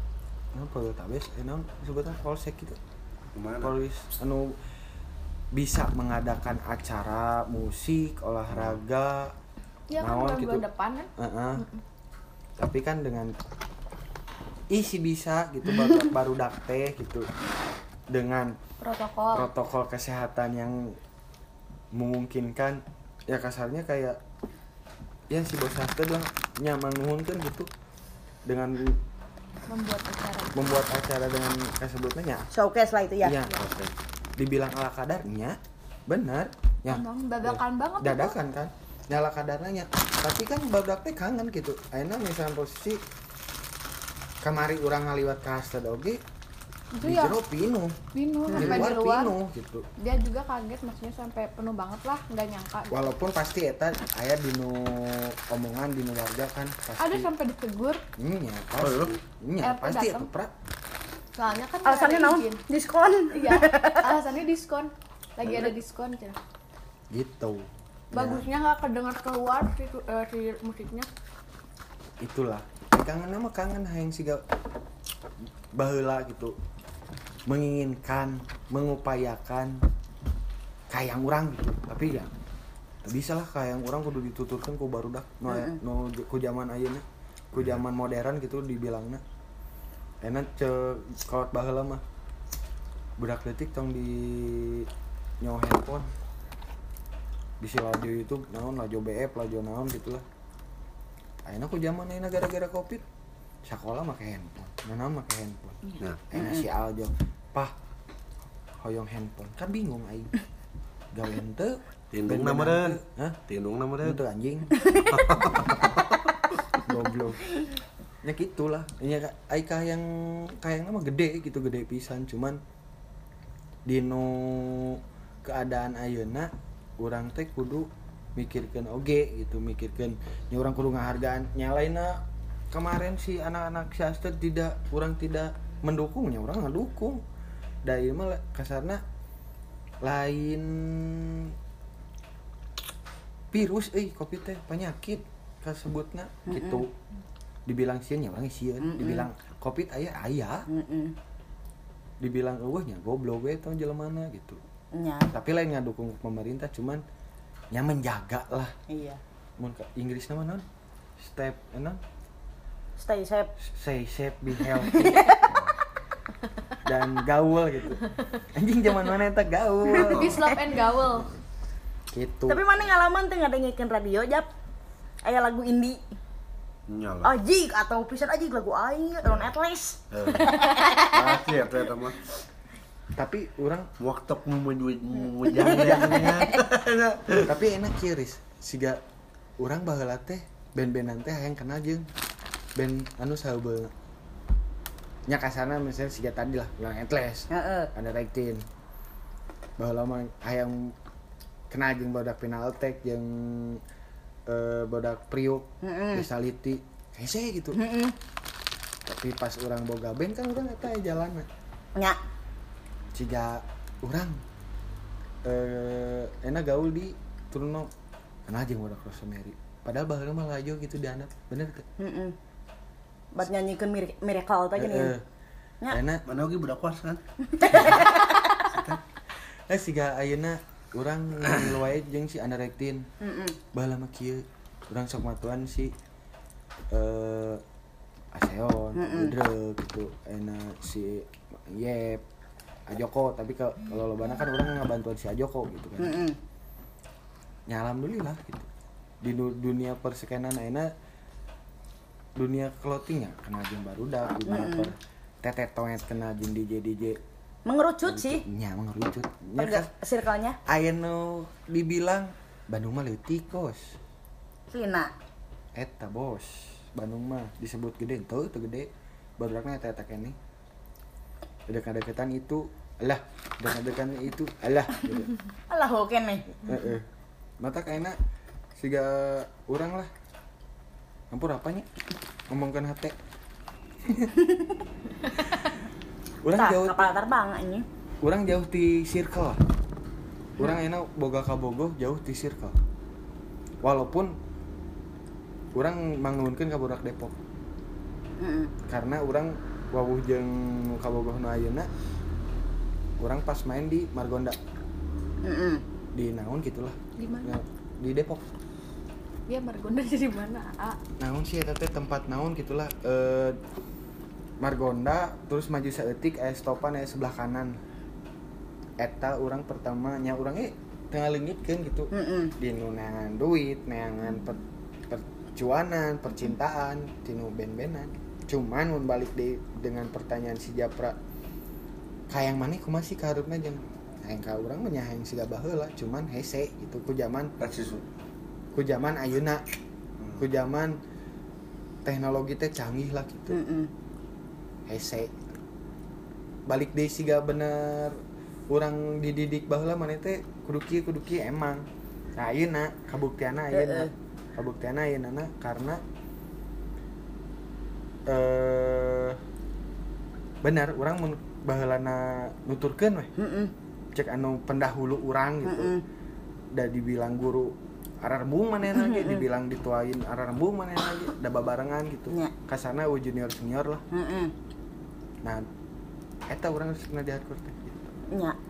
Poltabes naon sebutan polsek gitu. Kemana? Polis anu bisa mengadakan acara musik, olahraga, Ya kan naon bulan depan kan. Tapi kan dengan isi bisa gitu baru teh gitu dengan protokol kesehatan yang memungkinkan ya kasarnya kayak ya si bos hastad lah nyaman nuhunkeun gitu dengan membuat acara dengan kasebutnya showcase lah itu ya. Iya, dibilang ala kadarnya benar ya. Emang dadakan banget Dadakan kan. Nyala kadarnya. Tapi kan barudak teh kangen gitu. Ayeuna misalnya posisi kamari urang ngaliwat ka hastad oge itu di ya jero pinuh. di Di luar luar pinuh gitu. dia juga kaget maksudnya sampai penuh banget lah, nggak nyangka gitu. Walaupun pasti eta aya dinu omongan dinu warga kan pasti. Ada sampai ditegur Nya pasti. Nya pasti datang. eta pra. soalnya kan Alasannya nggak ada naon? izin. Diskon. Iya, alasannya diskon, lagi ada diskon cina. Gitu. Bagusnya nggak kedengar keluar si musiknya. Itulah kangen nama kangen hayang siga baheula gitu menginginkan mengupayakan kayang urang gitu tapi ya tak bisa lah kayang urang kudu dituturkan ku barudak no ku zaman ayeuna ku zaman modern gitu dibilangna enak kolot baheula mah budak leutik tong di nyawa handphone bisi lajo YouTube naon lajo BF lajo naon gitulah. Ayeuna ku zaman ayeuna gara-gara Covid sekolah make handphone, mana make handphone. Nah, Ayeuna si Aljo, "Pah, hoyong handphone." Kan bingung aing. Gawean teu tindung na meureun. Hah? Tindung na meureun. Itu anjing. Goblok. Ya gitulah. Nya ai kayang mah gede gitu, gede pisan cuman dino keadaan ayeuna urang teh kudu mikirkeun oge gitu, mikirkeun nya urang kudu ngahargaan nyalaina kemarin si anak-anak si Astrid urang tidak mendukungnya, urang ngedukung. Da ieu mah kasarna lain virus Covid teh penyakit kasebutna gitu. Dibilang sieun nya urang sieun, dibilang Covid aya. Dibilang eueuh nya goblok we tong jelemana gitu. Nya. Tapi lain ngadukung pemerintah cuman nya menjaga lah. Iya. Mun Inggris nama non? Step Stay safe. Stay safe, be healthy. Dan gaul gitu. Anjing zaman mana eta gaul. Peace, love, and gaul. Gitu. Tapi mana ngalaman teh ngadengikeun radio Jap? Aya lagu indie. Nyala. Ajig atau pisan ajig lagu aing non Atlas. Pasti ya eta mah. Tapi orang Waktu jangan. tapi enak kieu siga urang baheula teh band-bandan teh hayang kenal jeung band anu saeubeulna. Nya kasana misalnya siga tadi lah ulang Atlas. Heeh. Ada Rektin. Baheula mah hayang kenal jeung badak Final Attack jeung badak Priuk, Desaliti. Hese gitu. Tapi pas urang boga band kan urang eta jalanna. Nya. Ciga urang enak gaul di Turno kenal jeung badak Rosemary. Padahal baheula mah lajo gitu dianap. Bener teh? Bat nyanyikeun miracle teh gini. Nya. Enak Mana oge budak kuas kan? siga ayeuna urang ngilu wae jeung si Ana Rektin. Baheula mah kieu urang sok matuan si Aseon, Udre gitu. Enak si Yep, Ajoko, tapi kalau lobana kan urang ngabantuan si Ajoko gitu kan. Ya alhamdulillah gitu. Di dunia perskenan ayeuna dunia clothing ya kenal jeung barudak, dunia per tetetoet kenal jeung DJ Mengerucut sih. nya mengerucut. Nya circle-nya. Aya nu dibilang Bandung mah leutik bos. Lina. Eta bos. Bandung mah disebut gede teu gede. Barudakna eta keneh. Dekat-dekatan itu alah, dekat-dekatan itu alah gitu. Alah ho keneh. Heeh. Mata kayaknya siga urang lah. Ampun apanya? Ngomongkeun hate. Urang jauh kapal terbang ini. urang jauh di circle. Urang enak boga ka Bogoh jauh di circle. Walaupun urang mangnuhunkeun ka budak Depok. Karena urang wawuh jeung kabogohna ayeuna urang pas main di Margonda. Di naon gitulah. Di mana? Di Depok. Ya Margonda jadi mana? Naon sih eta teh tempat naon gitulah. Margonda terus maju saeutik aya stopan aya sebelah kanan. Eta urang pertamanya urang tengah leungitkeun gitu. Di nu neangan duit, neangan percuanan, percintaan, tinu ben-benan. Cuman mun balik dengan pertanyaan si Japra, kayang maneh kumaha sih kaharupna jeung hayang ka urang mah nya hayang siga baheula, cuman hese gitu ku zaman ayeuna. Ku zaman teknologi teh canggih lah gitu. Hese. Balik deui siga bener urang dididik baheula maneh teh kudu kieu emang. Nah ayeuna kabuktianna ayeuna karena benar urang mun baheulana nuturkeun weh. Cek anu pendahulu urang gitu. Da dibilang guru ararembung manehna ge, dibilang dituain ararembung manehna ge, da babarengan gitu. Kasarna junior senior lah. Nah, eta urang geus pernah di hardcore teh gitu. Nya.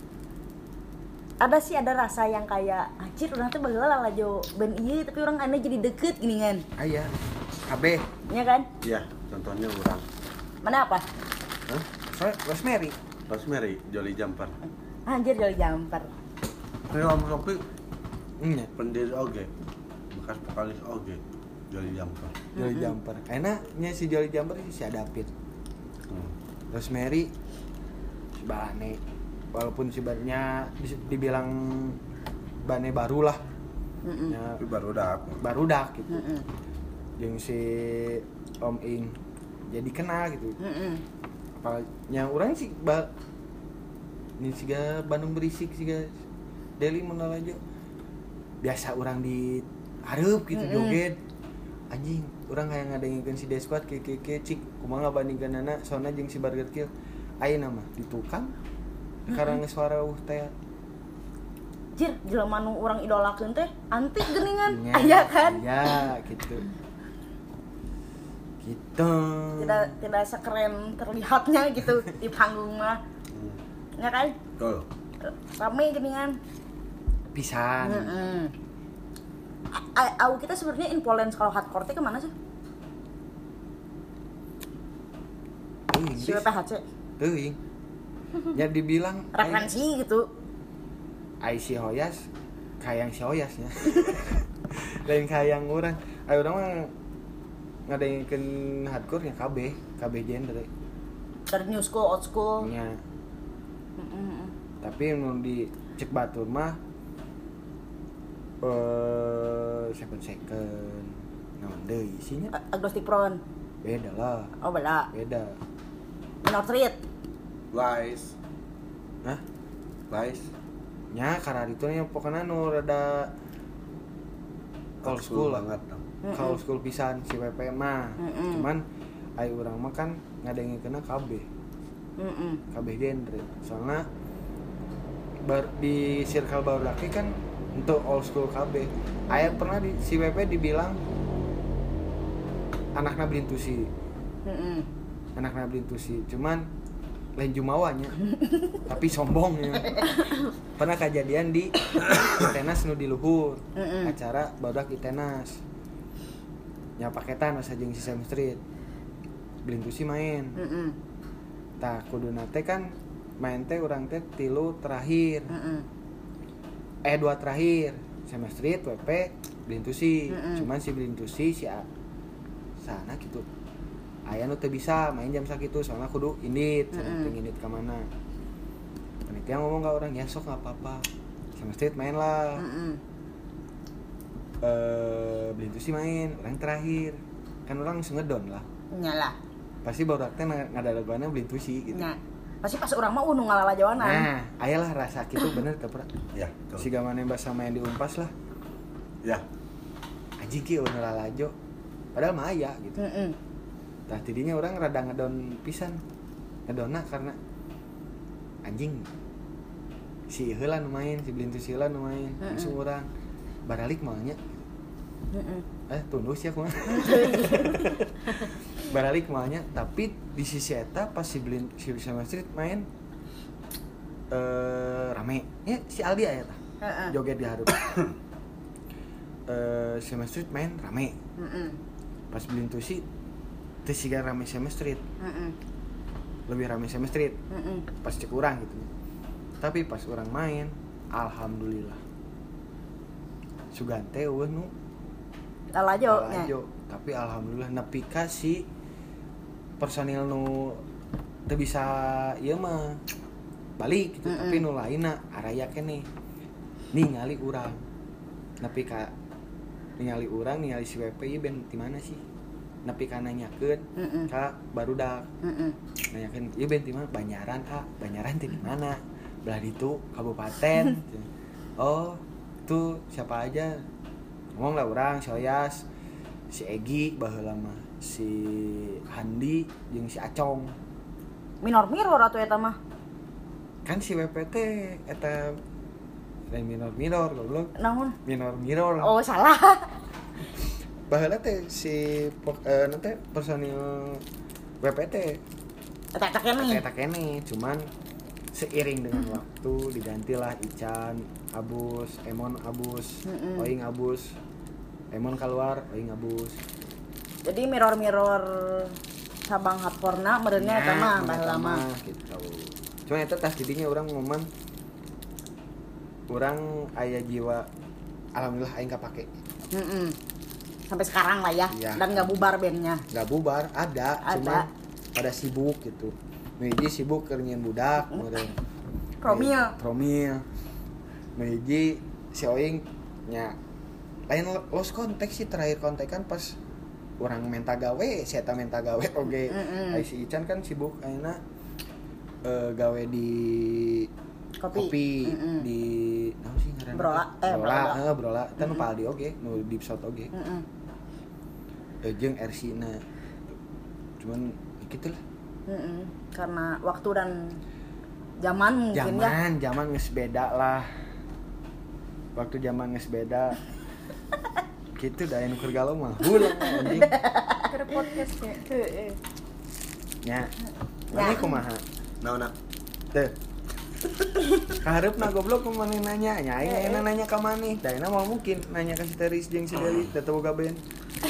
Ada rasa yang kayak anjir urang teh baheula lalajo band ieu tapi urang ane jadi deket gini kan. Aya. Kabeh. Iya kan? Iya, contohnya urang. Mana apa? Hah? Rosemary, Jolly Jumper. Anjir Jolly Jumper. Om Sopi nya pendiri oge. Bekas vokalis oge. Jolly Jumper. Jolly Jumper. Enak nya si Jolly Jumper si Adapit. Rosemary si Bane. Walaupun si Bane dibilang Bane baru lah. Tapi barudak gitu. Jeung si Om Ing jadi kenal gitu. Apalagi urang sih ini siga Bandung berisik siga Deli Menalajo biasa orang di hareup gitu joget anjing urang hayang ngadengikeun si Desquad ke cik kumaha ngabandingkeunana soalna jeung si Burger Kill ayeuna mah di tukang karang suara teh jir jelema nu urang idolakeun teh antik geuningan aya kan ya gitu tidak sekeren terlihatnya gitu di panggung mah ya kan rame geuningan pisan. Kita sebenarnya influence kalau hardcore teh kemana sih? Si WPHC. Teuing. Ya dibilang referensi gitu. Ai si Hoyas kayang si Hoyas nya. Lain kayang urang. Ai urang mah ngadengikeun hardcore nya KB genre. Dari new school, old school. Nya. Tapi mun di cek batur mah 7 second naon deui isinya Agnostic Prone beda lah. Oh beda Minor Threat Lies nya karena itu nya pokoknya nu rada old school banget old school pisan si WP mah cuman ai urang mah kan ngadengikeunna KB genre soalnya di circle baru laki kan untuk old school KB aya pernah si WP dibilang anakna blintusi cuman lain jumawanya tapi sombongnya pernah kejadian di Itenas nu di luhur acara barudak Itenas nya paketan asa jeung si Sam Street blintusi main tah kuduna teh kan main teh urang teh 3 terakhir 2 terakhir Sam Street WP blintusi cuman si blintusi si sana gitu aya nu teu bisa main jam sakitu soalna kudu indit penting indit ka mana panitia ngomong ka urang ya sok enggak apa-apa Sam Street main lah blintusi main urang terakhir kan urang geus ngedon lah nyala pasti baru teh ngadalagoana blintusi gitu nah pasti pas urang mah nu ngalalajoanan nah ayalah rasa kitu bener teu pernah ya siga maneh basa main di Unpas lah ya anjing kieu nu lalajo padahal mah aya gitu tah tidinya orang rada ngedon pisan ngedonna karena anjing si heula nu main si blintusi heula nu main langsung urang baralik mah nya tunduk sih aku mah. Baralik malnya, tapi di sisi eta pas si Sesame Street main rame. Ya si Aldi aya tah. Joget di hareup. Sesame Street main rame. Pas Blin Tusi teu siga rame Sesame Street. Lebih rame Sesame Street. Pas cek urang gitu. Tapi pas orang main, alhamdulillah. Sugante eueuh nu Lalajo. Tapi alhamdulillah nepi ka si personil nu teu bisa ieu mah balik gitu, tapi nu lainna araya keneh ningali urang. Nepi ka ningali urang, ningali si WP ieu ben di mana sih? Nepi ka nanyakeun ka barudak. Nanyakeun ieu ben di mana? Banyaran, Kak. Banyaran teh di mana? Belah ditu kabupaten. Oh, tuh siapa aja? Ngomong lah urang, si Oyas, si Egi baheula mah, si Handi jeung si Acong. Minor atuh eta mah. Kan si WPT eta lain minor goblok. Naon? Minor. Oh, salah. Baheula teh si nanti personil WPT Eta keneh. eta keneh, cuman seiring dengan waktu digantilah Ican, Abus, Emon Abus, Oing Abus. Emon keluar, Oing Abus. Jadi mirror Sabang Hardcore-na meureunnya eta mah baheula mah gitu. Cuma eta tas didinya urang momen urang aya jiwa alhamdulillah aing kapake. Sampai sekarang lah ya. Iya. Dan enggak bubar bandnya. Enggak bubar, ada. Cuma pada sibuk gitu. Meiji sibuk keur nyieun budak, meureun. Promil. Meiji si Oing nya lain lost kontak sih, terakhir kontekan pas orang menta gawe, si eta menta gawe oge. Si Ican kan sibuk ayeuna gawe di kopi di naon sih ngaranna? Brola. Eta nu Paldi oge, nu Deep South oge. Jeung RC-na. Cuman kitu lah. Karena waktu dan zaman mungkin ya. Zaman geus beda lah. Waktu zaman geus beda. Gitu da anu keur galau mah. Hulang anjing. Keur podcast ya. Heeh. Nya. Mane kumaha? Naonna? Teu. Kahareupna goblok ku maneh nanya. Nya aing nanya ka maneh. Da ayeuna mah mungkin nanya ka si Teris jeung si Deli da teu boga band.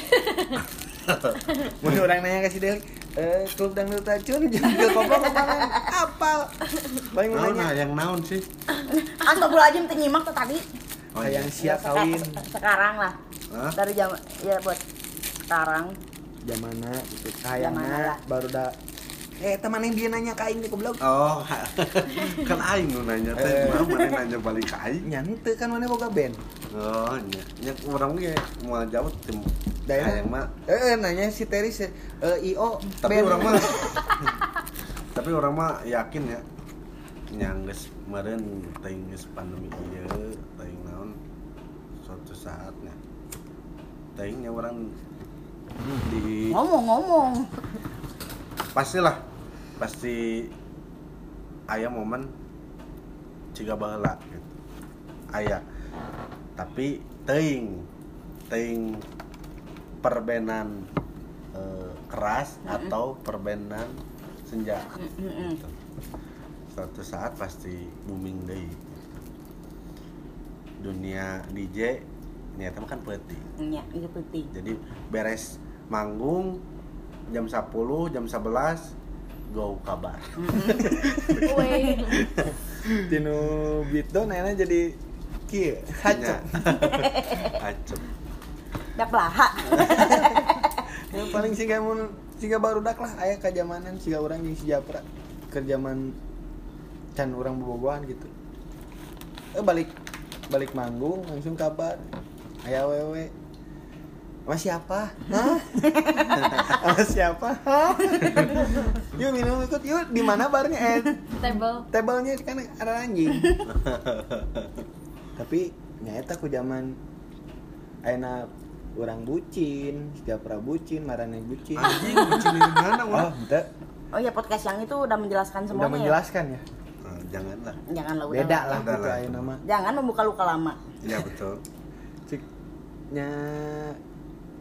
Mun urang nanya ka si Deli, klub dangdut racun jeung goblok kemarin apal. Paling nanya yang naon sih? Astagfirullahaladzim teu nyimak tuh tadi. hayang sia kawin. Sekarang lah. Hah? Dari zaman ya buat sekarang. Zamana gitu. Hayangna baru da teman yang dia nanya ka aing teh goblok. Oh, kan aing nu nanya teh, mana nanya balik ka aing. Nya henteu kan maneh boga band. Oh, nya urang ge moal jawab tim. Hayang mah. Nanya si Teris IO Tapi band. orang mah yakin ya. Yang geus meureun teuing geus pandemi ieu, teuing naon suatu saatnya. Teuing nya urang di Ngomong. pasti aya momen ciga baheula gitu. Aya. Tapi teuing perbenan keras atau perbenan senja. Gitu. Suatu saat pasti booming deui. Dunia DJ nyata kan peuting. Nya, itu penting. Jadi beres manggung jam 10, jam 11 go kabar. Weh. Tinu beatdown enak jadi kieu hacep. Hacep. Dak laha. Yang paling siga barudak lah aya ka zamanan siga urang jeung si Japra keur zaman can urang bobogohan gitu. Balik manggung langsung kabar. Aya wewe. Sama siapa? Hah? Sama siapa? Hah? Yuk minum ikut yuk. Di mana barnya? Tablenya kan ada anjing. Tapi nyata ku zaman ayeuna urang bucin, Japra bucin, Marane bucin. Anjing bucin di mana Oh, henteu. Oh ya podcast yang itu udah menjelaskan semuanya. Udah menjelaskan ya. Janganlah. Janganlah udah. Beda lah Udah gitu lah. ayeuna mah. Jangan membuka luka lama. Iya betul. Ciknya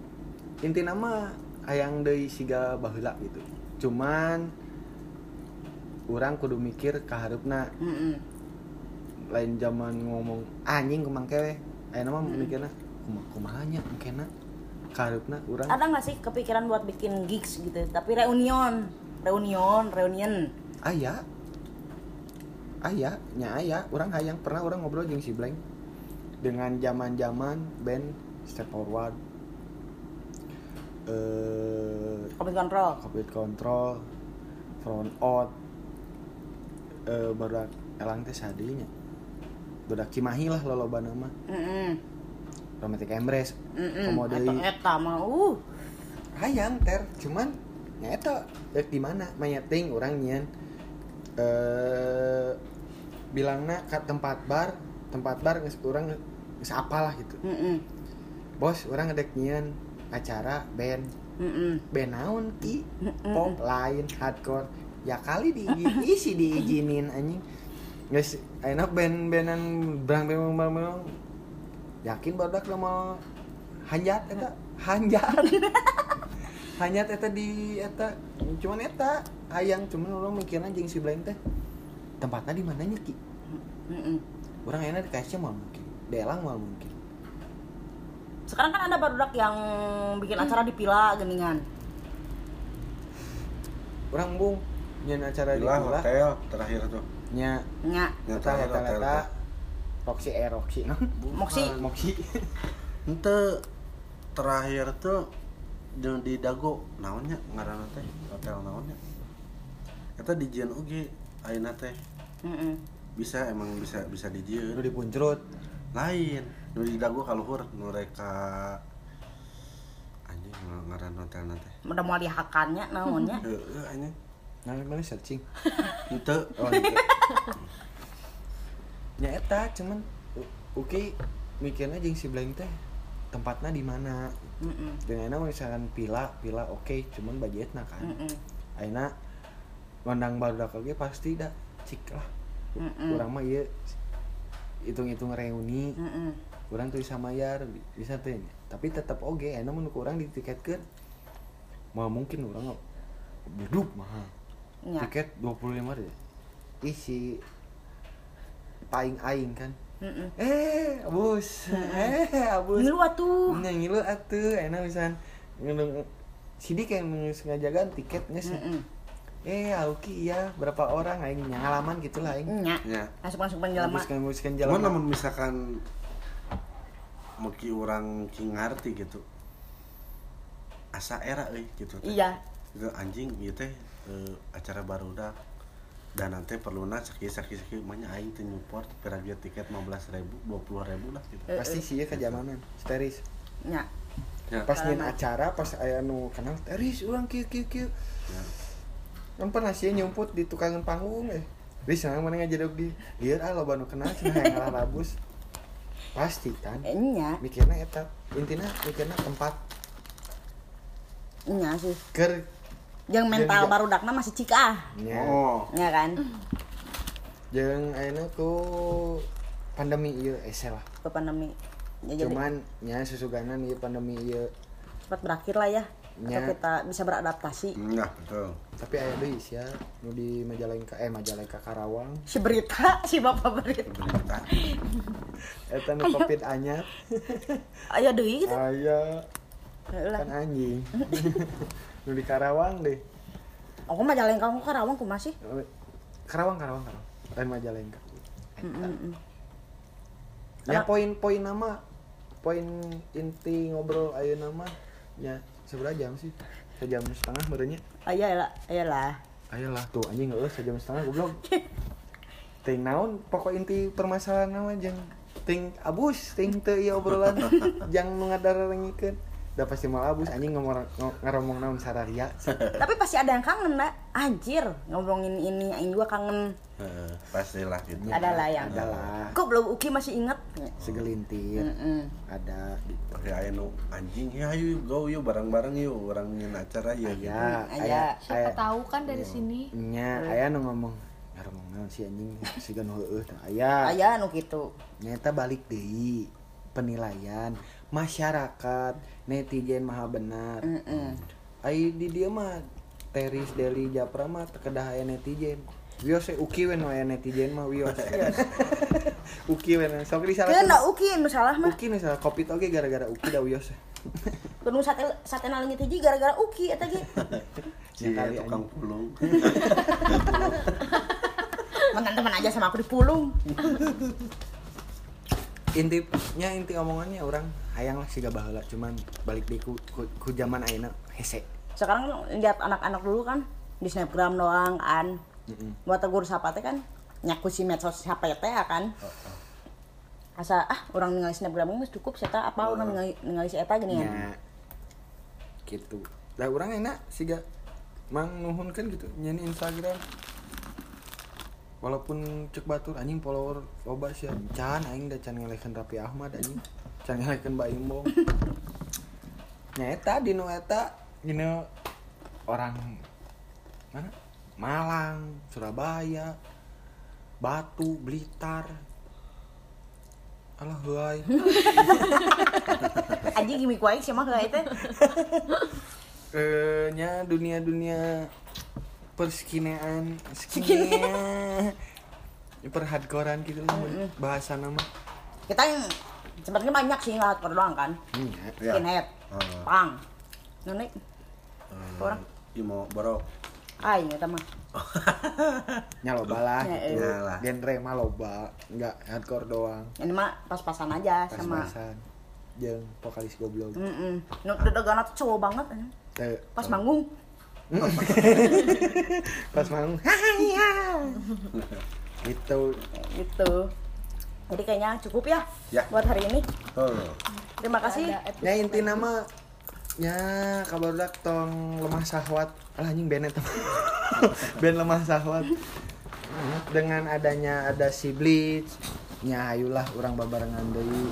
intina mah hayang deui siga baheula gitu. Cuman urang kudu mikir ka hareupna. Lain zaman ngomong anjing kumangke we. Ayeuna mah mikirna kumaha nya mungkinna ka hareupna urang. Ada nggak sih kepikiran buat bikin gigs gitu tapi reunion Aya urang hayang pernah urang ngobrol jeung si Blank dengan zaman-zaman band Step Forward Covid Control Front Out barudak elang teh sadinya barudak Cimahi lah lolobana mah Romantic Embrace komodei eta mah hayang ter cuman nya eta dek di mana manyeting urang nyian bilangna ka tempat bar geus urang geus apalah gitu. Bos urang ngedek nyian acara band naon ki pop lain hardcore ya kali diizinin anjing geus enak band-bandan brang yakin barudak mau hanjat eta hanjat eta di eta cuman eta hayang cuman urang mikirna jeung si Blank teh tempatnya di mananya ki urang enak di KSC mah mungkin di Elang mah mungkin. Sekarang kan ada barudak yang bikin acara di Pila Geningan. Urang bung nyen acara di Pila Pila hotel terakhir tuh. Nya eta Roxy no? Moxie. Ente terakhir tuh jeung di Dago naonnya ngaranna teh hotel naonnya. Eta dijieun oge ayeuna teh. Bisa dijieun. Nu di Puncrut. Lain, nu di Dago kaluhur nu reka anjing ngaranna hotelna teh. Udah mau dihakannya naonnya. Heeh anjing. Mana searching. Henteu. Oh, gitu. Nya eta cuman oke mikirnya jeung si Blank teh tempatnya di mana. Dengan misalkan Pila oke, cuman budgetna kan. Ayeuna ngondang barudak oge pasti da cik lah. Urang mah ieu hitung-hitung reuni. Urang tuh bisa mayar bisa teh. Tapi tetep oge ayeuna mun urang ditiketkeun. Mah mungkin urang beduk mahal. Ya. Tiket 25 deh. Isi paling aing kan. Abus. Ngilu atuh. Ngilu atuh, enak pisan. Ngeung sidik yang ngajagan tiket geus. Auki iya berapa orang aing ngalaman gitulah aing. Nya. Masuk penjelma. Masukkan jelema. Namun misalkan muki orang ki ngarti gitu. Asa era euy gitu teh. Iya. Itu anjing ieu teh acara barudak dan nanti perlu sakit makanya aing teh nyupport piragia tiket 15.000 20.000 lah gitu. Pasti sih ya kejamanan steris nya pas nyin acara pas aya nu kenal steris urang kieu ya. Kan pernah sih nyumput di tukangan panggung Riz mana ngajadog di lieur loba nu kenal cenah hayang ngalah rabus pasti kan nya mikirna eta intina mikirna tempat nya sih keur jeung mental barudakna masih cika. Nya kan. Jeung ayeuna ku pandemi ieu lah. Ke pandemi. Ya, cuman nya susuganan ieu pandemi ieu cepat berakhir lah ya. Atau kita bisa beradaptasi. Nah, betul. Tapi aya deui sia nu di Majalengka Karawang. Si berita, si bapak berita. Eta nu Covid anyar. Aya deui gitu. Aya. Kan anjing. Nu di Karawang deh. Aku Majalengka aku Karawang kumaha sih? Karawang. Lain Majalengka. Ya poin nama poin inti ngobrol ayeuna mah nya seberapa jam sih? 1,5 jam beureunya. Ayalah. Tuh anjing geus 1,5 jam goblok. Ting naon pokok inti permasalahan mah jeung ting abus ting teu ieu obrolan jang nu ngadarengikeun. Udah pasti mal abus anjing ngomong naon sararia. Tapi pasti ada yang kangen, Mbak. Anjir, ngomongin ini aing juga kangen. Pastilah gitu. Adalah. Kok belum Uki masih ingat? Segelintir. Ada pakai aya nu anjing ya ayo go yuk bareng-bareng yuk orang nyen acara ya gitu. Aya. Siapa tahu kan dari sini. Nya aya nu ngomong naon si anjing sigan heueuh tah aya. Aya nu kitu. Nyata balik deui penilaian masyarakat netizen maha benar. Ai di dia mah Teris Deli Japra mah kedah aya netizen. Wios uki we no aya netizen mah wios. Uki we sok disalahkeun. Keuna uki nu salah mah. Uki nu salah Covid oge gara-gara uki da wios. Kudu satena leungit hiji gara-gara uki eta ge. Si tukang pulung. Teman-teman aja sama aku dipulung. Inti omongannya orang hayang lah siga baheula cuman balik deui ku zaman ayeuna hese. Sekarang lihat anak-anak dulu kan di snapgram doang kan. Buat tegur sapa teh kan nyaku si medsos siapa teh kan. Asa orang ningali snapgram geus cukup saya apa orang ningali si eta gini ya. Gitu. Lah urang enak siga mang nuhunkeun gitu nyanyi Instagram. Walaupun cek batur anjing follower loba sia can aing da can ngelekeun Raffi Ahmad anjing can ngelekeun Mbak Imbong nya eta dinu eta dinu orang mana Malang, Surabaya, Batu, Blitar alah heuy anjing gimik wae sih mah kayak teh nya dunia perskinean perhardcorean gitu bahasa nama kita yang sebenarnya banyak sih hardcore doang kan skinhead punk nenek orang Imo borok ini mah nya loba lah genre mah loba enggak hardcore doang ini mah pas-pasan aja sama pas-pasan jeung vokalis goblok nu dedegana tuh cowok banget pas manggung pas manggung gitu jadi kayaknya cukup ya buat hari ini terima kasih ya inti nama nya kabarudak tong lemah syahwat anjing benet band lemah syahwat dengan adanya ada si Bleach nya ayulah urang babarengan deui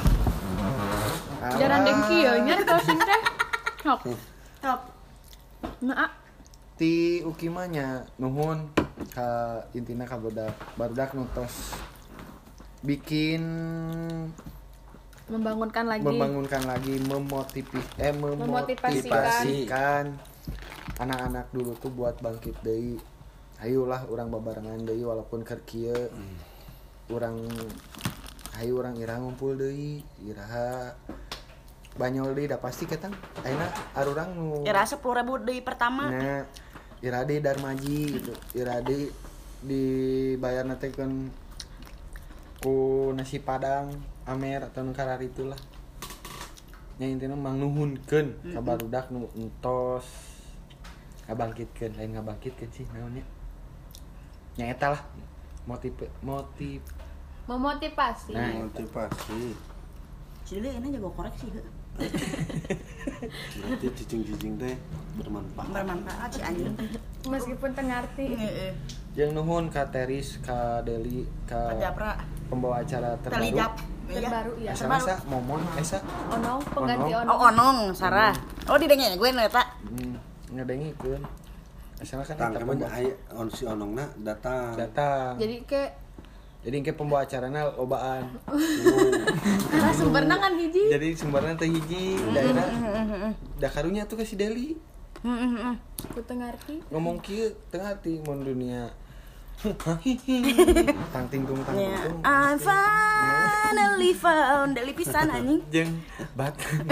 jaran dengki ya nya closing teh top nah ti ukimanya nuhun ka intina ka barudak nutos bikin membangunkan lagi memotivasikan anak-anak dulu tuh buat bangkit deui hayulah urang babarengan deui walaupun keur kieu urang hayu urang ira ngumpul deui iraha banyol deui da pasti ketang ayeuna arurang nu ira 10.000 deui pertama nah ira deui Darmaji gitu ira deui dibayarna teh ku nasi padang amer atau nu karar itulah nya intina mang nuhunkeun ka barudak nu entos ngabangkitkeun lain ngabangkitkeun sih naonnya nya eta lah memotivasi Cile ini jago koreksi heuh. Berarti cicing-cicing teh bermanfaat si anjing. Meskipun tengarti. Jeung nuhun ka Teris, ka Deli, ka Japra, pembawa acara terbaru ya. Asa Momon esa. Onong pengganti Onong. Oh Onong, Sarah. Oh didenge gue eta. Ngadengikeun. Asal kan eta pembawa si Onongna datang. Jadi ke pembawa acarana lobaan. Karena sumberna kan hiji. Jadi sumberna teh hiji daerah. Da karunya tuh ke si Deli. Ku teu ngarti. Ngomong kieu teu ngarti mun dunia. Tangtingtung. I finally found Deli pisan anjing. Jeung bat.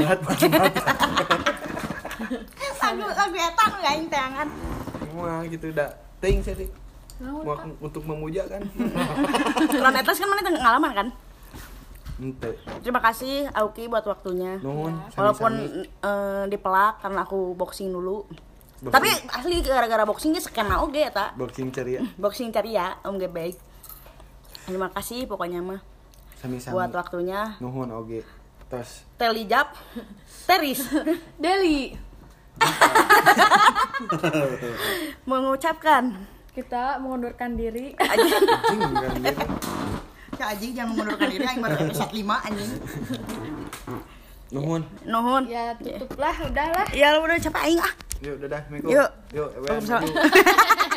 Lagu eta nu aing teangan. Wah gitu da. Teuing sih. Untuk memuja kan. Ron etas kan mana ngalaman kan? Ente. Terima kasih Auki buat waktunya. Nuhun. Walaupun dipelak karena aku boxing dulu. Tapi asli gara-gara boxingnya skena oge eta. Boxing ceria. Boxing ceria om ge baik. Terima kasih pokoknya mah. Sami-sami. Buat waktunya. Nuhun oge. Tos. Telijap. Teris. Deli. Mengucapkan kita mengundurkan diri. Anjing jangan mengundurkan diri aing baru episode 5 anjing. Nuhun. Ya tutuplah udahlah. Ya udah capek aing ah. Yuk dadah, Assalamualaikum. Yuk. Yuk.